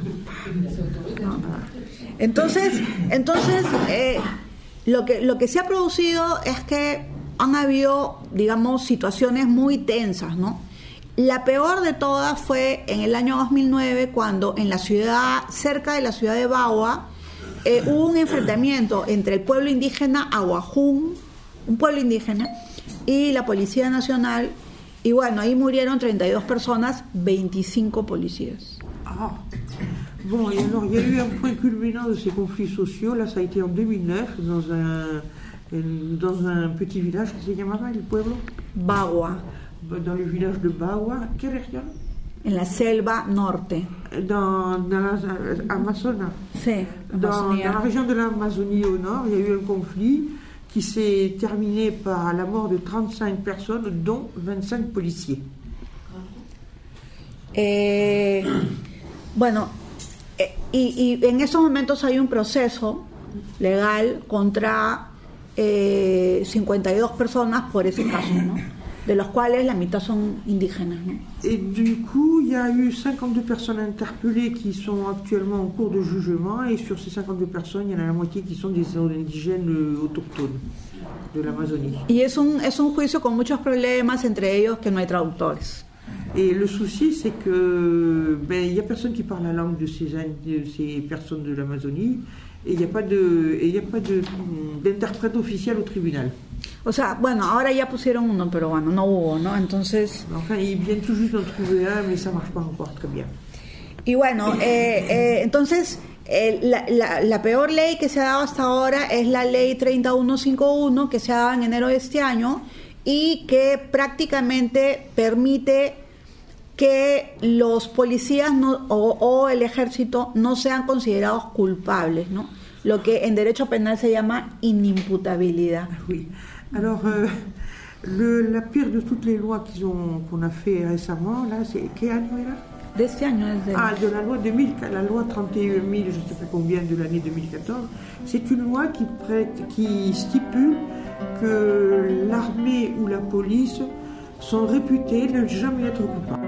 Speaker 6: Entonces, entonces eh, lo que lo que se ha producido es que han habido, digamos, situaciones muy tensas, ¿no? La peor de todas fue en el año dos mil nueve, cuando en la ciudad, cerca de la ciudad de Bagua, eh, hubo un enfrentamiento entre el pueblo indígena Aguajún, un pueblo indígena, y la Policía Nacional, y bueno, ahí murieron treinta y dos personas, veinticinco policías.
Speaker 14: Ah. Bon, et alors, il y a eu un point culminant de ces conflits sociaux, là, ça a été en deux mille neuf, dans un, dans un petit village qui se llamaba el pueblo
Speaker 6: Bagua.
Speaker 14: Dans le village de Bagua. Quelle région?
Speaker 6: En la selva norte.
Speaker 14: Dans, dans l'Amazonas.
Speaker 6: Sí,
Speaker 14: dans, dans la région de l'Amazonie au nord, il y a eu un conflit qui s'est terminé par la mort de trente-cinq personnes, dont vingt-cinq policiers.
Speaker 6: Eh, bueno, eh, y, y en estos momentos hay un proceso legal contra eh, cincuenta y dos personas por ese caso, ¿no? De los cuales la mitad son indígenas, ¿no?
Speaker 14: Et du coup, il y a eu cinquante-deux personnes interpellées qui sont actuellement en cours de jugement, et sur ces cinquante-deux personnes, il y en a la moitié qui sont des indigènes autochtones de l'Amazonie.
Speaker 6: Y es un, es un juicio con muchos problemas, entre ellos que no hay traductores.
Speaker 14: Et le souci, c'est que ben, il y a personne qui parle la langue de ces, de ces personnes de l'Amazonie, et il n'y a pas de, il y a pas de, d'interprète officiel au tribunal.
Speaker 6: O sea, bueno, ahora ya pusieron uno, pero bueno, no hubo, ¿no? Entonces...
Speaker 14: Enfin, ils viennent tout juste d'en trouver un, mais ça marche pas encore très bien.
Speaker 6: Y bueno, eh, eh, entonces, eh, la, la, la peor ley que se ha dado hasta ahora es la ley treinta y uno cincuenta y uno, que se ha dado en enero de este año, y que prácticamente permite que los policías no, o, o el ejército no sean considerados culpables, ¿no? Lo que en derecho penal se llama inimputabilidad.
Speaker 14: Oui. Alors, euh, le, la pire de toutes les lois qu'ils ont, qu'on a fait récemment, là, c'est quel año era?
Speaker 6: De este año, desde...
Speaker 14: Ah, de la loi deux mille, la loi trente et un mille, je ne sais pas combien, de l'année deux mille quatorze. C'est une loi qui, prête, qui stipule que l'armée ou la police sont réputées ne jamais être coupables.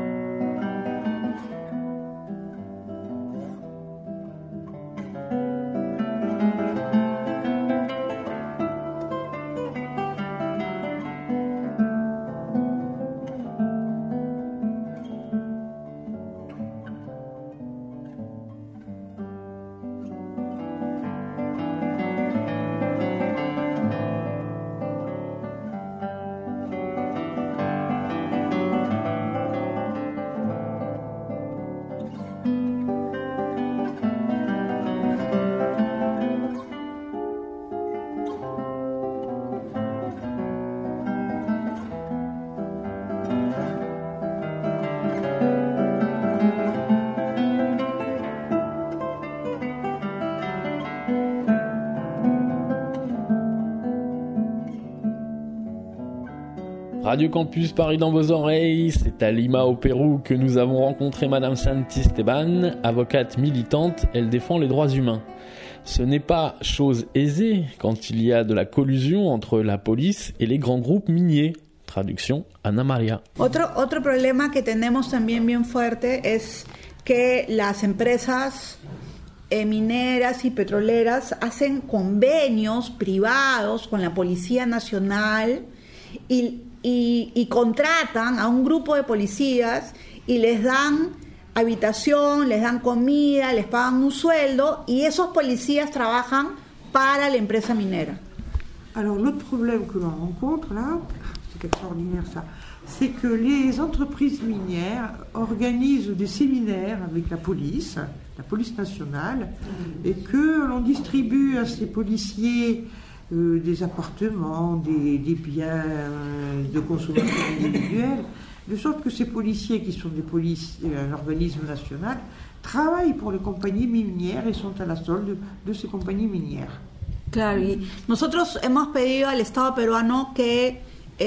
Speaker 10: Radio Campus Paris dans vos oreilles, c'est à Lima au Pérou que nous avons rencontré Madame Santisteban, avocate militante, elle défend les droits humains. Ce n'est pas chose aisée quand il y a de la collusion entre la police et les grands groupes miniers. Traduction, Ana María.
Speaker 6: Otro, otro problema que tenemos también bien fuerte es que las empresas eh, mineras y petroleras hacen convenios privados con la Policía Nacional y Y, y contratan a un grupo de policías y les dan habitación, les dan comida, les pagan un sueldo y esos policías trabajan para la empresa minera.
Speaker 14: Alors l'autre problème que l'on rencontre là, c'est extraordinaire ça, c'est que les entreprises minières organisent des séminaires avec la police, la police nationale, et que l'on distribue à ces policiers Euh, des appartements, des, des biens euh, de consommation individuelle, de sorte que ces policiers, qui sont des polices, un organisme national, travaillent pour les compagnies minières et sont à la solde de ces compagnies minières.
Speaker 6: Claro, y nosotros hemos pedido al Estado peruano que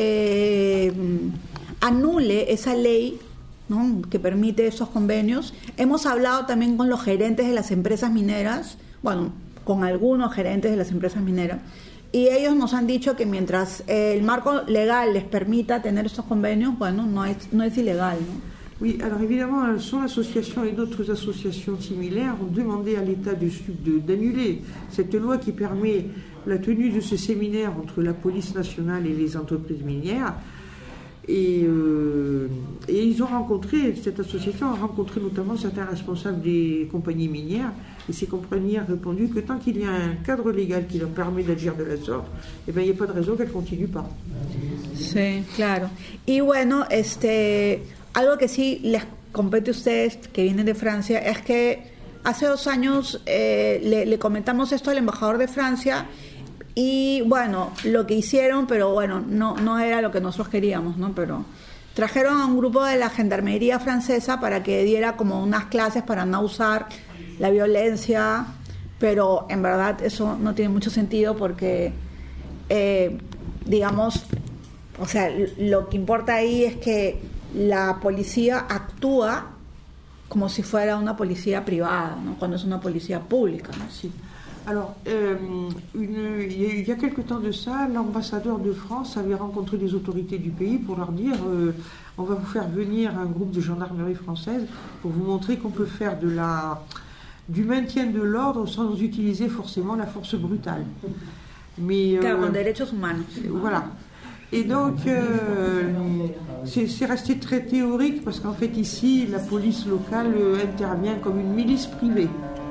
Speaker 6: eh, anule esa ley, ¿no?, que permite esos convenios. Hemos hablado también con los gerentes de las empresas mineras, bueno, con algunos gerentes de las empresas mineras, y ellos nos han dicho que mientras el marco legal les permita tener estos convenios, bueno, no es, no es ilegal, ¿no?
Speaker 14: Oui, alors évidemment, son association et d'autres associations similaires ont demandé à l'État du Sud de, d'annuler cette loi qui permet la tenue de ces séminaires entre la police nationale et les entreprises minières. Et, euh, et ils ont rencontré, cette association a rencontré notamment certains responsables des compagnies minières, et ces compagnies ont répondu que tant qu'il y a un cadre légal qui leur permet d'agir de la sorte, eh bien, il n'y a pas de raison qu'elles ne continuent pas.
Speaker 6: Sí, claro. Y bueno, este, algo que sí les compete a ustedes que vienen de Francia es que hace dos años eh, le, le comentamos esto al embajador de Francia. Y bueno, lo que hicieron, pero bueno, no, no era lo que nosotros queríamos, ¿no? Pero trajeron a un grupo de la gendarmería francesa para que diera como unas clases para no usar la violencia, pero en verdad eso no tiene mucho sentido porque, eh, digamos, o sea, lo que importa ahí es que la policía actúa como si fuera una policía privada, ¿no?, cuando es una policía pública, ¿no?
Speaker 14: Sí. Alors, euh, une, il y a quelque temps de ça, l'ambassadeur de France avait rencontré les autorités du pays pour leur dire euh, on va vous faire venir un groupe de gendarmerie française pour vous montrer qu'on peut faire de la, du maintien de l'ordre sans utiliser forcément la force brutale. Mais,
Speaker 6: claro, euh, con derechos humanos.
Speaker 14: Voilà. Et donc, euh, c'est, c'est resté très théorique parce qu'en fait, ici, la police locale euh, intervient comme une milice privée.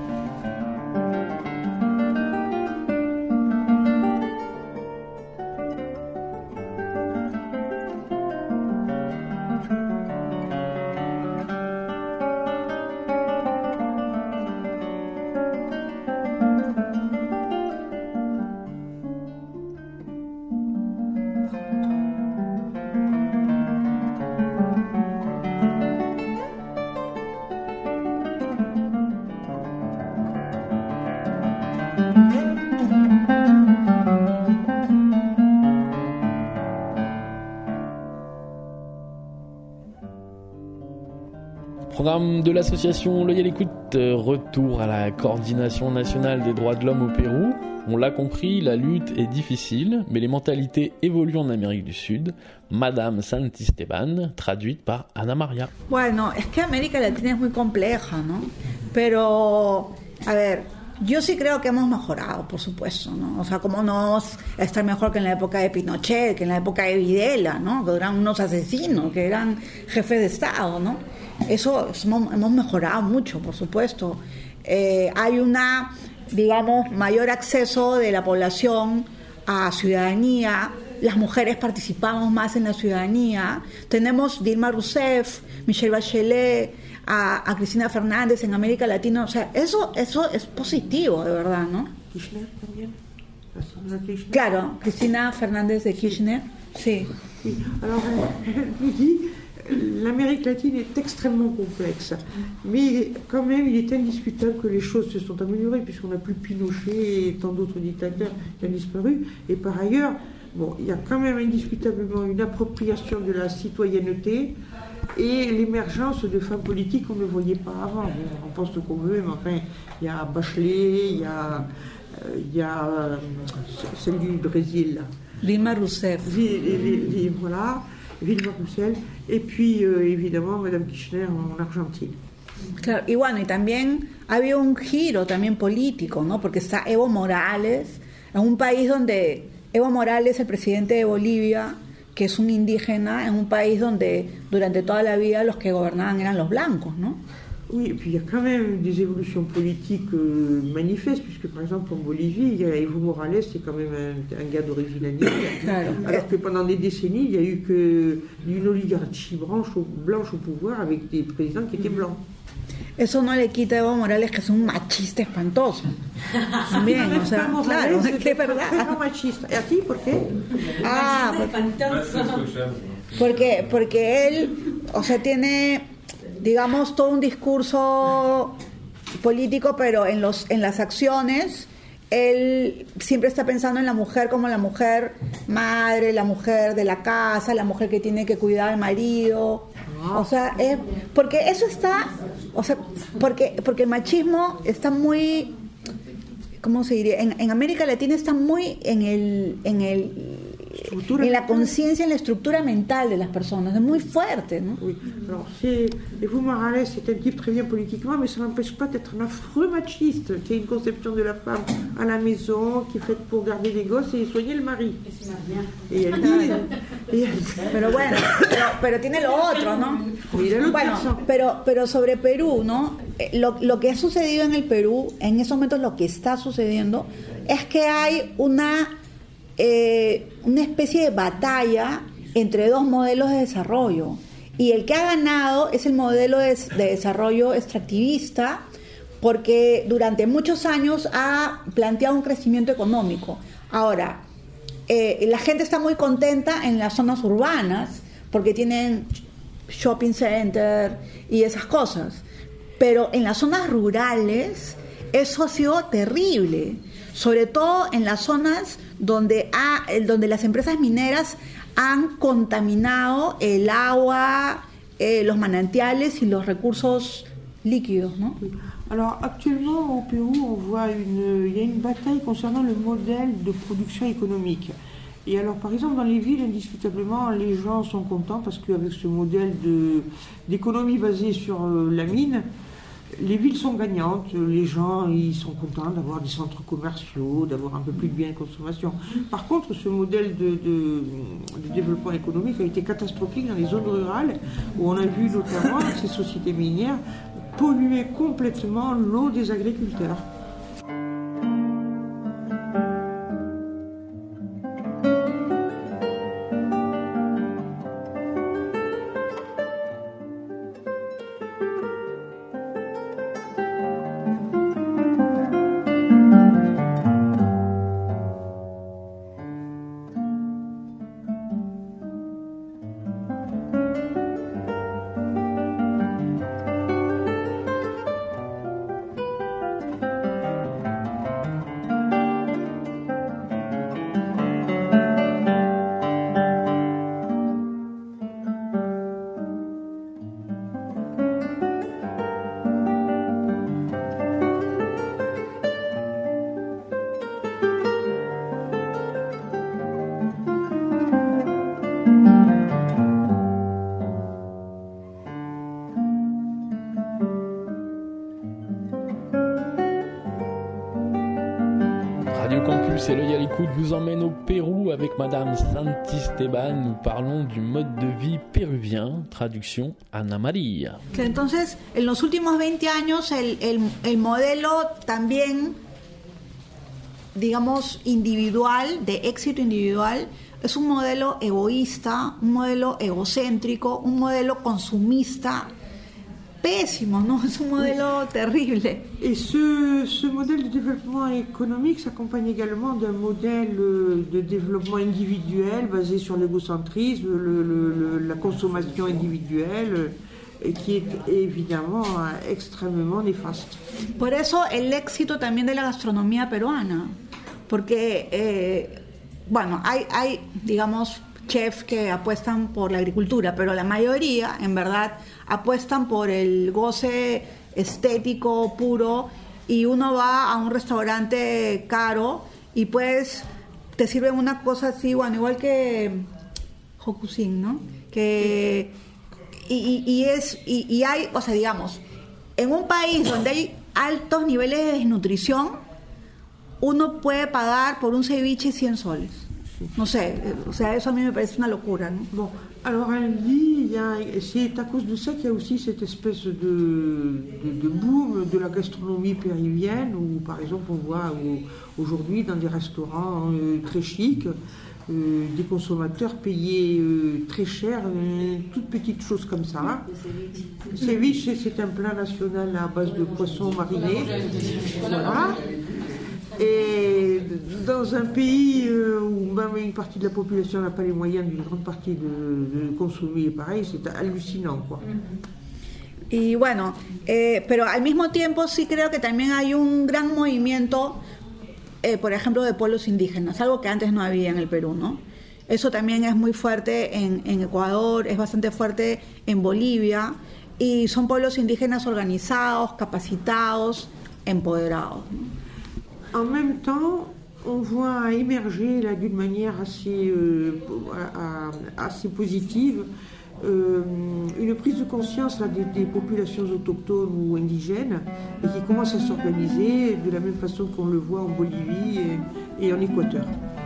Speaker 10: Programme de l'association L'Œil à l'écoute, retour à la coordination nationale des droits de l'homme au Pérou. On l'a compris, la lutte est difficile, mais les mentalités évoluent en Amérique du Sud. Madame Santisteban, traduite par Ana María.
Speaker 6: Bueno, es que América Latina es muy compleja, ¿no? Pero, a ver, yo sí creo que hemos mejorado, por supuesto, ¿no? O sea, cómo no vamos a estar mejor que en la época de Pinochet, que en la época de Videla, ¿no? Que eran unos asesinos, que eran jefes de Estado, ¿no? Eso hemos, hemos mejorado mucho, por supuesto. Eh, hay una, digamos, mayor acceso de la población a ciudadanía. Las mujeres participamos más en la ciudadanía. Tenemos Dilma Rousseff, Michelle Bachelet, a, a Cristina Fernández en América Latina. O sea, eso, eso es positivo, de verdad, ¿no?
Speaker 14: Kirchner también.
Speaker 6: Claro, Cristina Fernández de Kirchner, sí.
Speaker 14: Sí. Alors, je dis, l'Amérique latine est extrêmement complexe, mais quand même, il est indiscutable que les choses se sont améliorées, puisqu'on n'a plus Pinochet et tant d'autres dictateurs qui ont disparu. Et par ailleurs, Bon, il y a quand même indiscutablement une appropriation de la citoyenneté et l'émergence de femmes politiques qu'on ne voyait pas avant. Bon, on pense ce qu'on veut, mais enfin, il y a Bachelet, il y a, euh, il y a euh, celle du Brésil, là.
Speaker 6: Dilma Rousseff.
Speaker 14: Voilà, Dilma Rousseff. Et puis, euh, évidemment, Madame Kirchner en Argentine.
Speaker 6: Claro, y bueno, y también ha habido un giro también político, ¿no? Porque está Evo Morales, en un país donde Evo Morales, el presidente de Bolivia, que es un indígena, en un país donde durante toda la vida los que gobernaban eran los blancos, ¿no?
Speaker 14: Oui, et puis il y a quand même des évolutions politiques euh, manifestes, puisque par exemple en Bolivie, il y a Evo Morales, c'est quand même un, un gars d'origine indienne, claro. Alors que pendant des décennies, il n'y a eu que une oligarchie blanche au, blanche au pouvoir avec des présidents qui étaient blancs.
Speaker 6: Eso no le quita a Evo Morales que es un machista espantoso. También, o sea, claro, es que es verdad.
Speaker 14: Machista. ¿Y a ti por qué?
Speaker 6: Ah, porque, porque él, o sea, tiene, digamos, todo un discurso político, pero en los en las acciones él siempre está pensando en la mujer como la mujer madre, la mujer de la casa, la mujer que tiene que cuidar al marido. O sea, es, porque eso está, o sea, porque porque el machismo está muy, ¿cómo se diría? En, en América Latina está muy en el en el en la conciencia, en la estructura mental de las personas, es muy fuerte, ¿no?
Speaker 14: Oui. Alors, c'est, Evo Morales c'est un type très bien politiquement, mais ça n'empêche pas d'être un affreux machiste, qui a une conception de la femme à la maison, qui est faite pour garder les gosses et soigner le mari. Et elle dit... et elle...
Speaker 6: Pero bueno, pero, pero tiene lo otro, ¿no? Bueno, pero, pero sobre Perú, ¿no? Lo, lo que ha sucedido en el Perú, en esos momentos lo que está sucediendo, es que hay una... Eh, una especie de batalla entre dos modelos de desarrollo, y el que ha ganado es el modelo de, de desarrollo extractivista, porque durante muchos años ha planteado un crecimiento económico. Ahora, eh, la gente está muy contenta en las zonas urbanas porque tienen shopping center y esas cosas, pero en las zonas rurales eso ha sido terrible, sobre todo en las zonas donde, ha, donde las empresas mineras han contaminado el agua, eh, los manantiales y los recursos líquidos, ¿no?
Speaker 14: Alors actuellement au Pérou, on voit une, il y a une bataille concernant le modèle de production économique. Et alors par exemple dans les villes, indiscutablement, les gens sont contents parce qu'avec ce modèle de, d'économie basée sur euh, la mine, les villes sont gagnantes, les gens ils sont contents d'avoir des centres commerciaux, d'avoir un peu plus de biens de consommation. Par contre, ce modèle de, de, de développement économique a été catastrophique dans les zones rurales, où on a vu notamment ces sociétés minières polluer complètement l'eau des agriculteurs.
Speaker 10: C'est l'œil à l'écoute, vous emmène au Pérou avec Madame Santisteban. Nous parlons du mode de vie péruvien. Traducción, Ana María.
Speaker 6: Entonces, en los últimos veinte años, el, el, el modelo también, digamos, individual, de éxito individual, es un modelo egoísta, un modelo egocéntrico, un modelo consumista, pésimo, ¿no? Es un modelo terrible.
Speaker 14: Et ce, ce modèle de développement économique s'accompagne également d'un modèle de développement individuel basé sur l'égocentrisme, le, le, le, la consommation individuelle, et qui est évidemment extrêmement néfaste.
Speaker 6: Por eso el éxito también de la gastronomía peruana, porque eh, bueno, hay, hay, digamos, chefs que apuestan por la agricultura, pero la mayoría, en verdad, apuestan por el goce estético puro, y uno va a un restaurante caro y pues te sirven una cosa así, bueno, igual que Hokusin, ¿no? Que y, y, y es y, y hay, o sea, digamos, en un país donde hay altos niveles de desnutrición, uno puede pagar por un ceviche cien soles. No sé, o sea, eso a mí me parece una locura, ¿no?
Speaker 14: Bon, alors elle dit, il y a, c'est à cause de ça qu'il y a aussi cette espèce de, de, de boom de la gastronomie péruvienne, où par exemple on voit où, aujourd'hui dans des restaurants euh, très chics, euh, des consommateurs payaient euh, très cher, euh, toutes petites choses comme ça. Le ceviche, c'est un plat national à base de poisson mariné. Voilà. Et dans un pays où même une partie de la population n'a pas les moyens d'une grande partie de, de consommer pareil, c'est hallucinant, quoi.
Speaker 6: Y bueno, eh, pero al mismo tiempo sí creo que también hay un gran movimiento, eh, por ejemplo, de pueblos indígenas, algo que antes no había en el Perú, ¿no? Eso también es muy fuerte en, en Ecuador, es bastante fuerte en Bolivia, y son pueblos indígenas organizados, capacitados, empoderados, ¿no?
Speaker 14: En même temps, on voit émerger là d'une manière assez, euh, assez positive euh, une prise de conscience là, des, des populations autochtones ou indigènes, et qui commencent à s'organiser de la même façon qu'on le voit en Bolivie et, et en Équateur.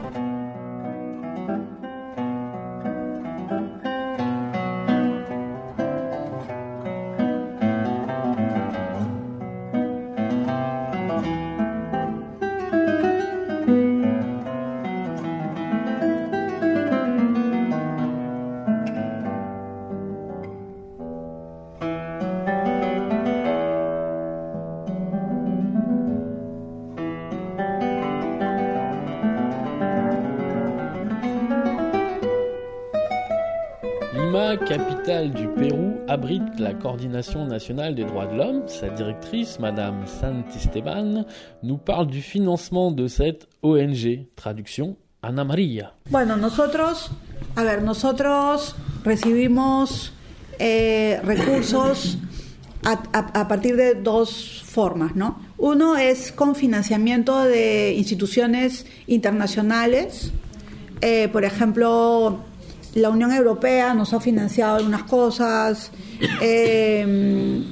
Speaker 10: Lima, capitale du Pérou, abrite la Coordination nationale des droits de l'homme. Sa directrice, Madame Santisteban, nous parle du financement de cette O N G. Traduction, Ana María.
Speaker 6: Bueno, nosotros, a ver, nosotros recibimos eh, recursos a, a, a partir de dos formas, ¿no? Uno es con financiamiento de instituciones internacionales, eh, por ejemplo, la Unión Europea nos ha financiado algunas cosas, eh,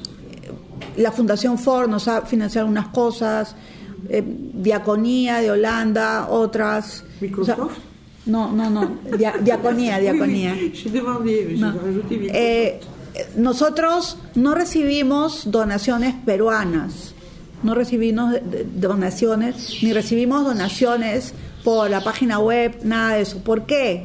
Speaker 6: la Fundación Ford nos ha financiado algunas cosas, eh, Diaconía de Holanda, otras.
Speaker 14: ¿Microsoft?
Speaker 6: O sea, no, no, no, dia, Diaconía, Diaconía. No. Eh, nosotros no recibimos donaciones peruanas, no recibimos donaciones, ni recibimos donaciones por la página web, nada de eso. ¿Por qué?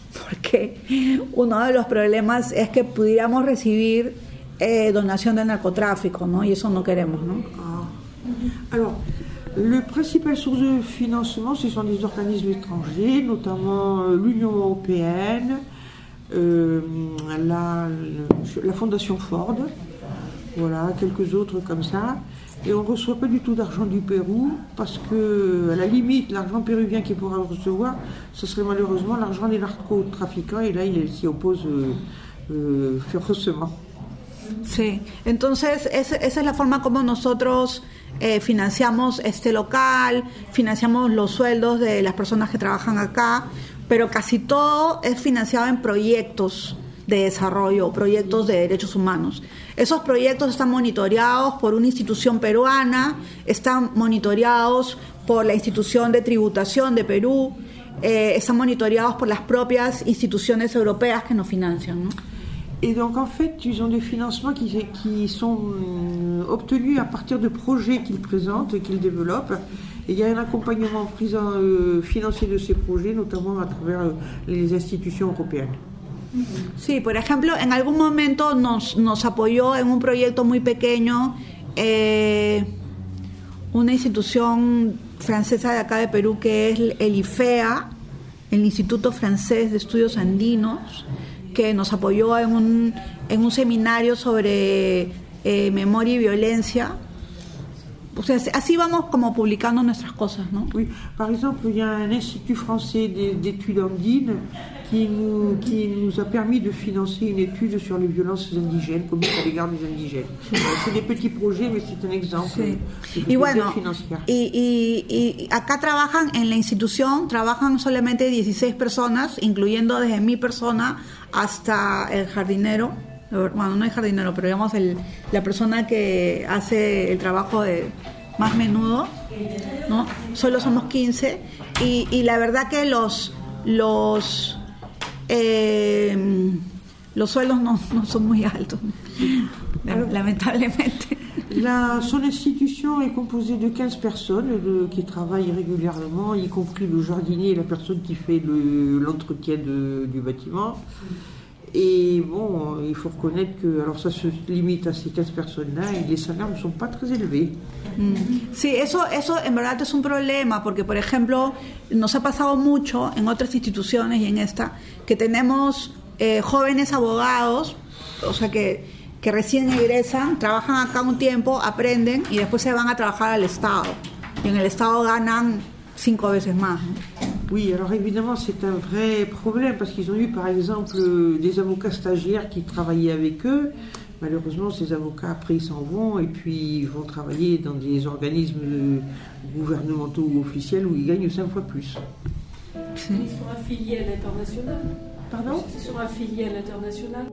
Speaker 6: Porque uno de los problemas es que pudiéramos recibir eh, donación de narcotráfico, ¿no? Y eso no queremos, ¿no?
Speaker 14: Ah. Alors, le principal source de financement, ce sont des organismes étrangers, notamment l'Union européenne, euh, la, la Fondation Ford, voilà, quelques autres comme ça. Et on ne reçoit pas du tout d'argent du Pérou, parce que, à la limite, l'argent péruvien qu'il pourra recevoir, ce serait malheureusement l'argent des narcotrafiquants, et là, il s'y oppose euh, euh, férocement.
Speaker 6: Sí, entonces esa, esa es la forma como nosotros eh, financiamos este local, financiamos los sueldos de las personas que trabajan acá, pero casi todo es financiado en proyectos de desarrollo, proyectos de derechos humanos. Esos proyectos están monitoreados por una institución peruana, están monitoreados por la institución de tributación de Perú, eh, están monitoreados por las propias instituciones europeas que nos financian, ¿no?
Speaker 14: Et donc en fait, ils ont des financements qui, qui sont obtenus à partir de projets qu'ils présentent et qu'ils développent. Et il y a un accompagnement euh, financier de ces projets, notamment à travers les institutions européennes.
Speaker 6: Sí, por ejemplo, en algún momento nos, nos apoyó en un proyecto muy pequeño eh, una institución francesa de acá de Perú, que es el I F E A, el Instituto Francés de Estudios Andinos, que nos apoyó en un, en un seminario sobre eh, memoria y violencia. o sea, así vamos como publicando nuestras cosas, ¿no?
Speaker 14: Oui, par exemple, il y a un institut français d'études andines qui nous, qui nous a permis de financer une étude sur les violences indigènes commises à l'égard des indigènes. C'est des petits projets, mais c'est un exemple.
Speaker 6: Sí. Y bueno, y, y, y acá trabajan en la institución, trabajan solamente dieciséis personas, incluyendo desde mi persona hasta el jardinero. Bueno, no es jardinero, pero digamos el, la persona que hace el trabajo de más menudo, ¿no? Solo somos quince y, y la verdad que los los eh, los sueldos no, no son muy altos, lamentablemente.
Speaker 14: La, son institution est composée de quinze personnes de, qui travaillent régulièrement, y compris le jardinier et la personne qui fait le, l'entretien de, du bâtiment. Et bon, il faut reconnaître que, alors ça se limite a ces quinze personnes-là y les salaires ne sont pas très élevés.
Speaker 6: Sí, eso, eso en verdad es un problema, porque por ejemplo, nos ha pasado mucho en otras instituciones y en esta, que tenemos eh, jóvenes abogados, o sea que, que recién egresan, trabajan acá un tiempo, aprenden y después se van a trabajar al Estado. Y en el Estado ganan cinco veces más, ¿no?
Speaker 14: Oui, alors évidemment c'est un vrai problème parce qu'ils ont eu par exemple des avocats stagiaires qui travaillaient avec eux. Malheureusement ces avocats après ils s'en vont et puis ils vont travailler dans des organismes gouvernementaux ou officiels où ils gagnent cinq fois plus.
Speaker 15: Ils sont affiliés à l'international.
Speaker 14: Pardon ?
Speaker 15: Ils sont affiliés à l'international.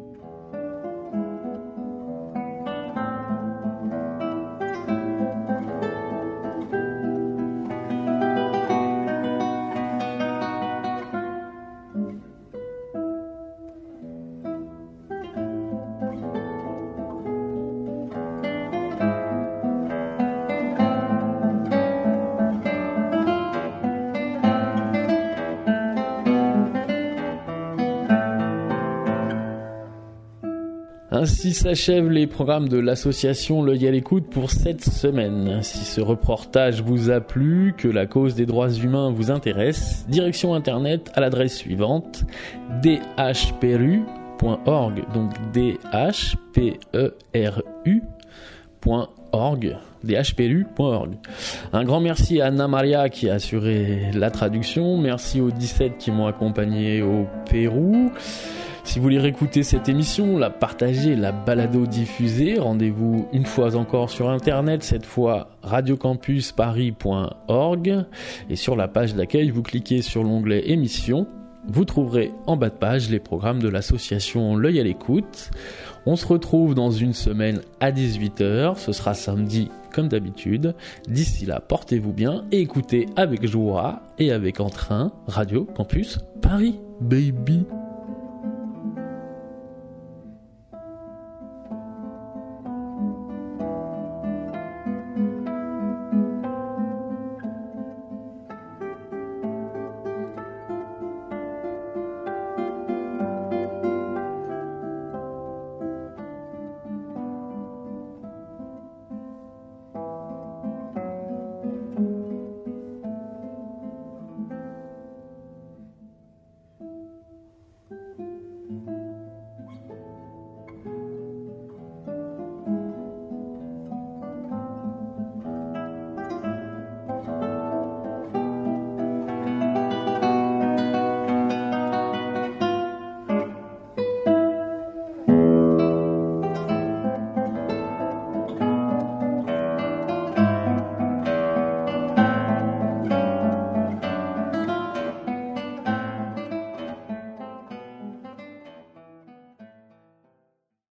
Speaker 10: Ainsi s'achèvent les programmes de l'association L'œil à l'écoute pour cette semaine. Si ce reportage vous a plu, que la cause des droits humains vous intéresse, direction internet à l'adresse suivante d h p r u point org, donc d h p e r u point org, d h p r u point org. Un grand merci à Anna Maria qui a assuré la traduction, merci aux dix-sept qui m'ont accompagné au Pérou. Si vous voulez réécouter cette émission, la partager, la balado-diffuser, rendez-vous une fois encore sur internet, cette fois radio campus paris point org, et sur la page d'accueil, vous cliquez sur l'onglet émissions, vous trouverez en bas de page les programmes de l'association L'œil à l'écoute. On se retrouve dans une semaine à dix-huit heures, ce sera samedi comme d'habitude. D'ici là, portez-vous bien et écoutez avec joie et avec entrain Radio Campus Paris, baby.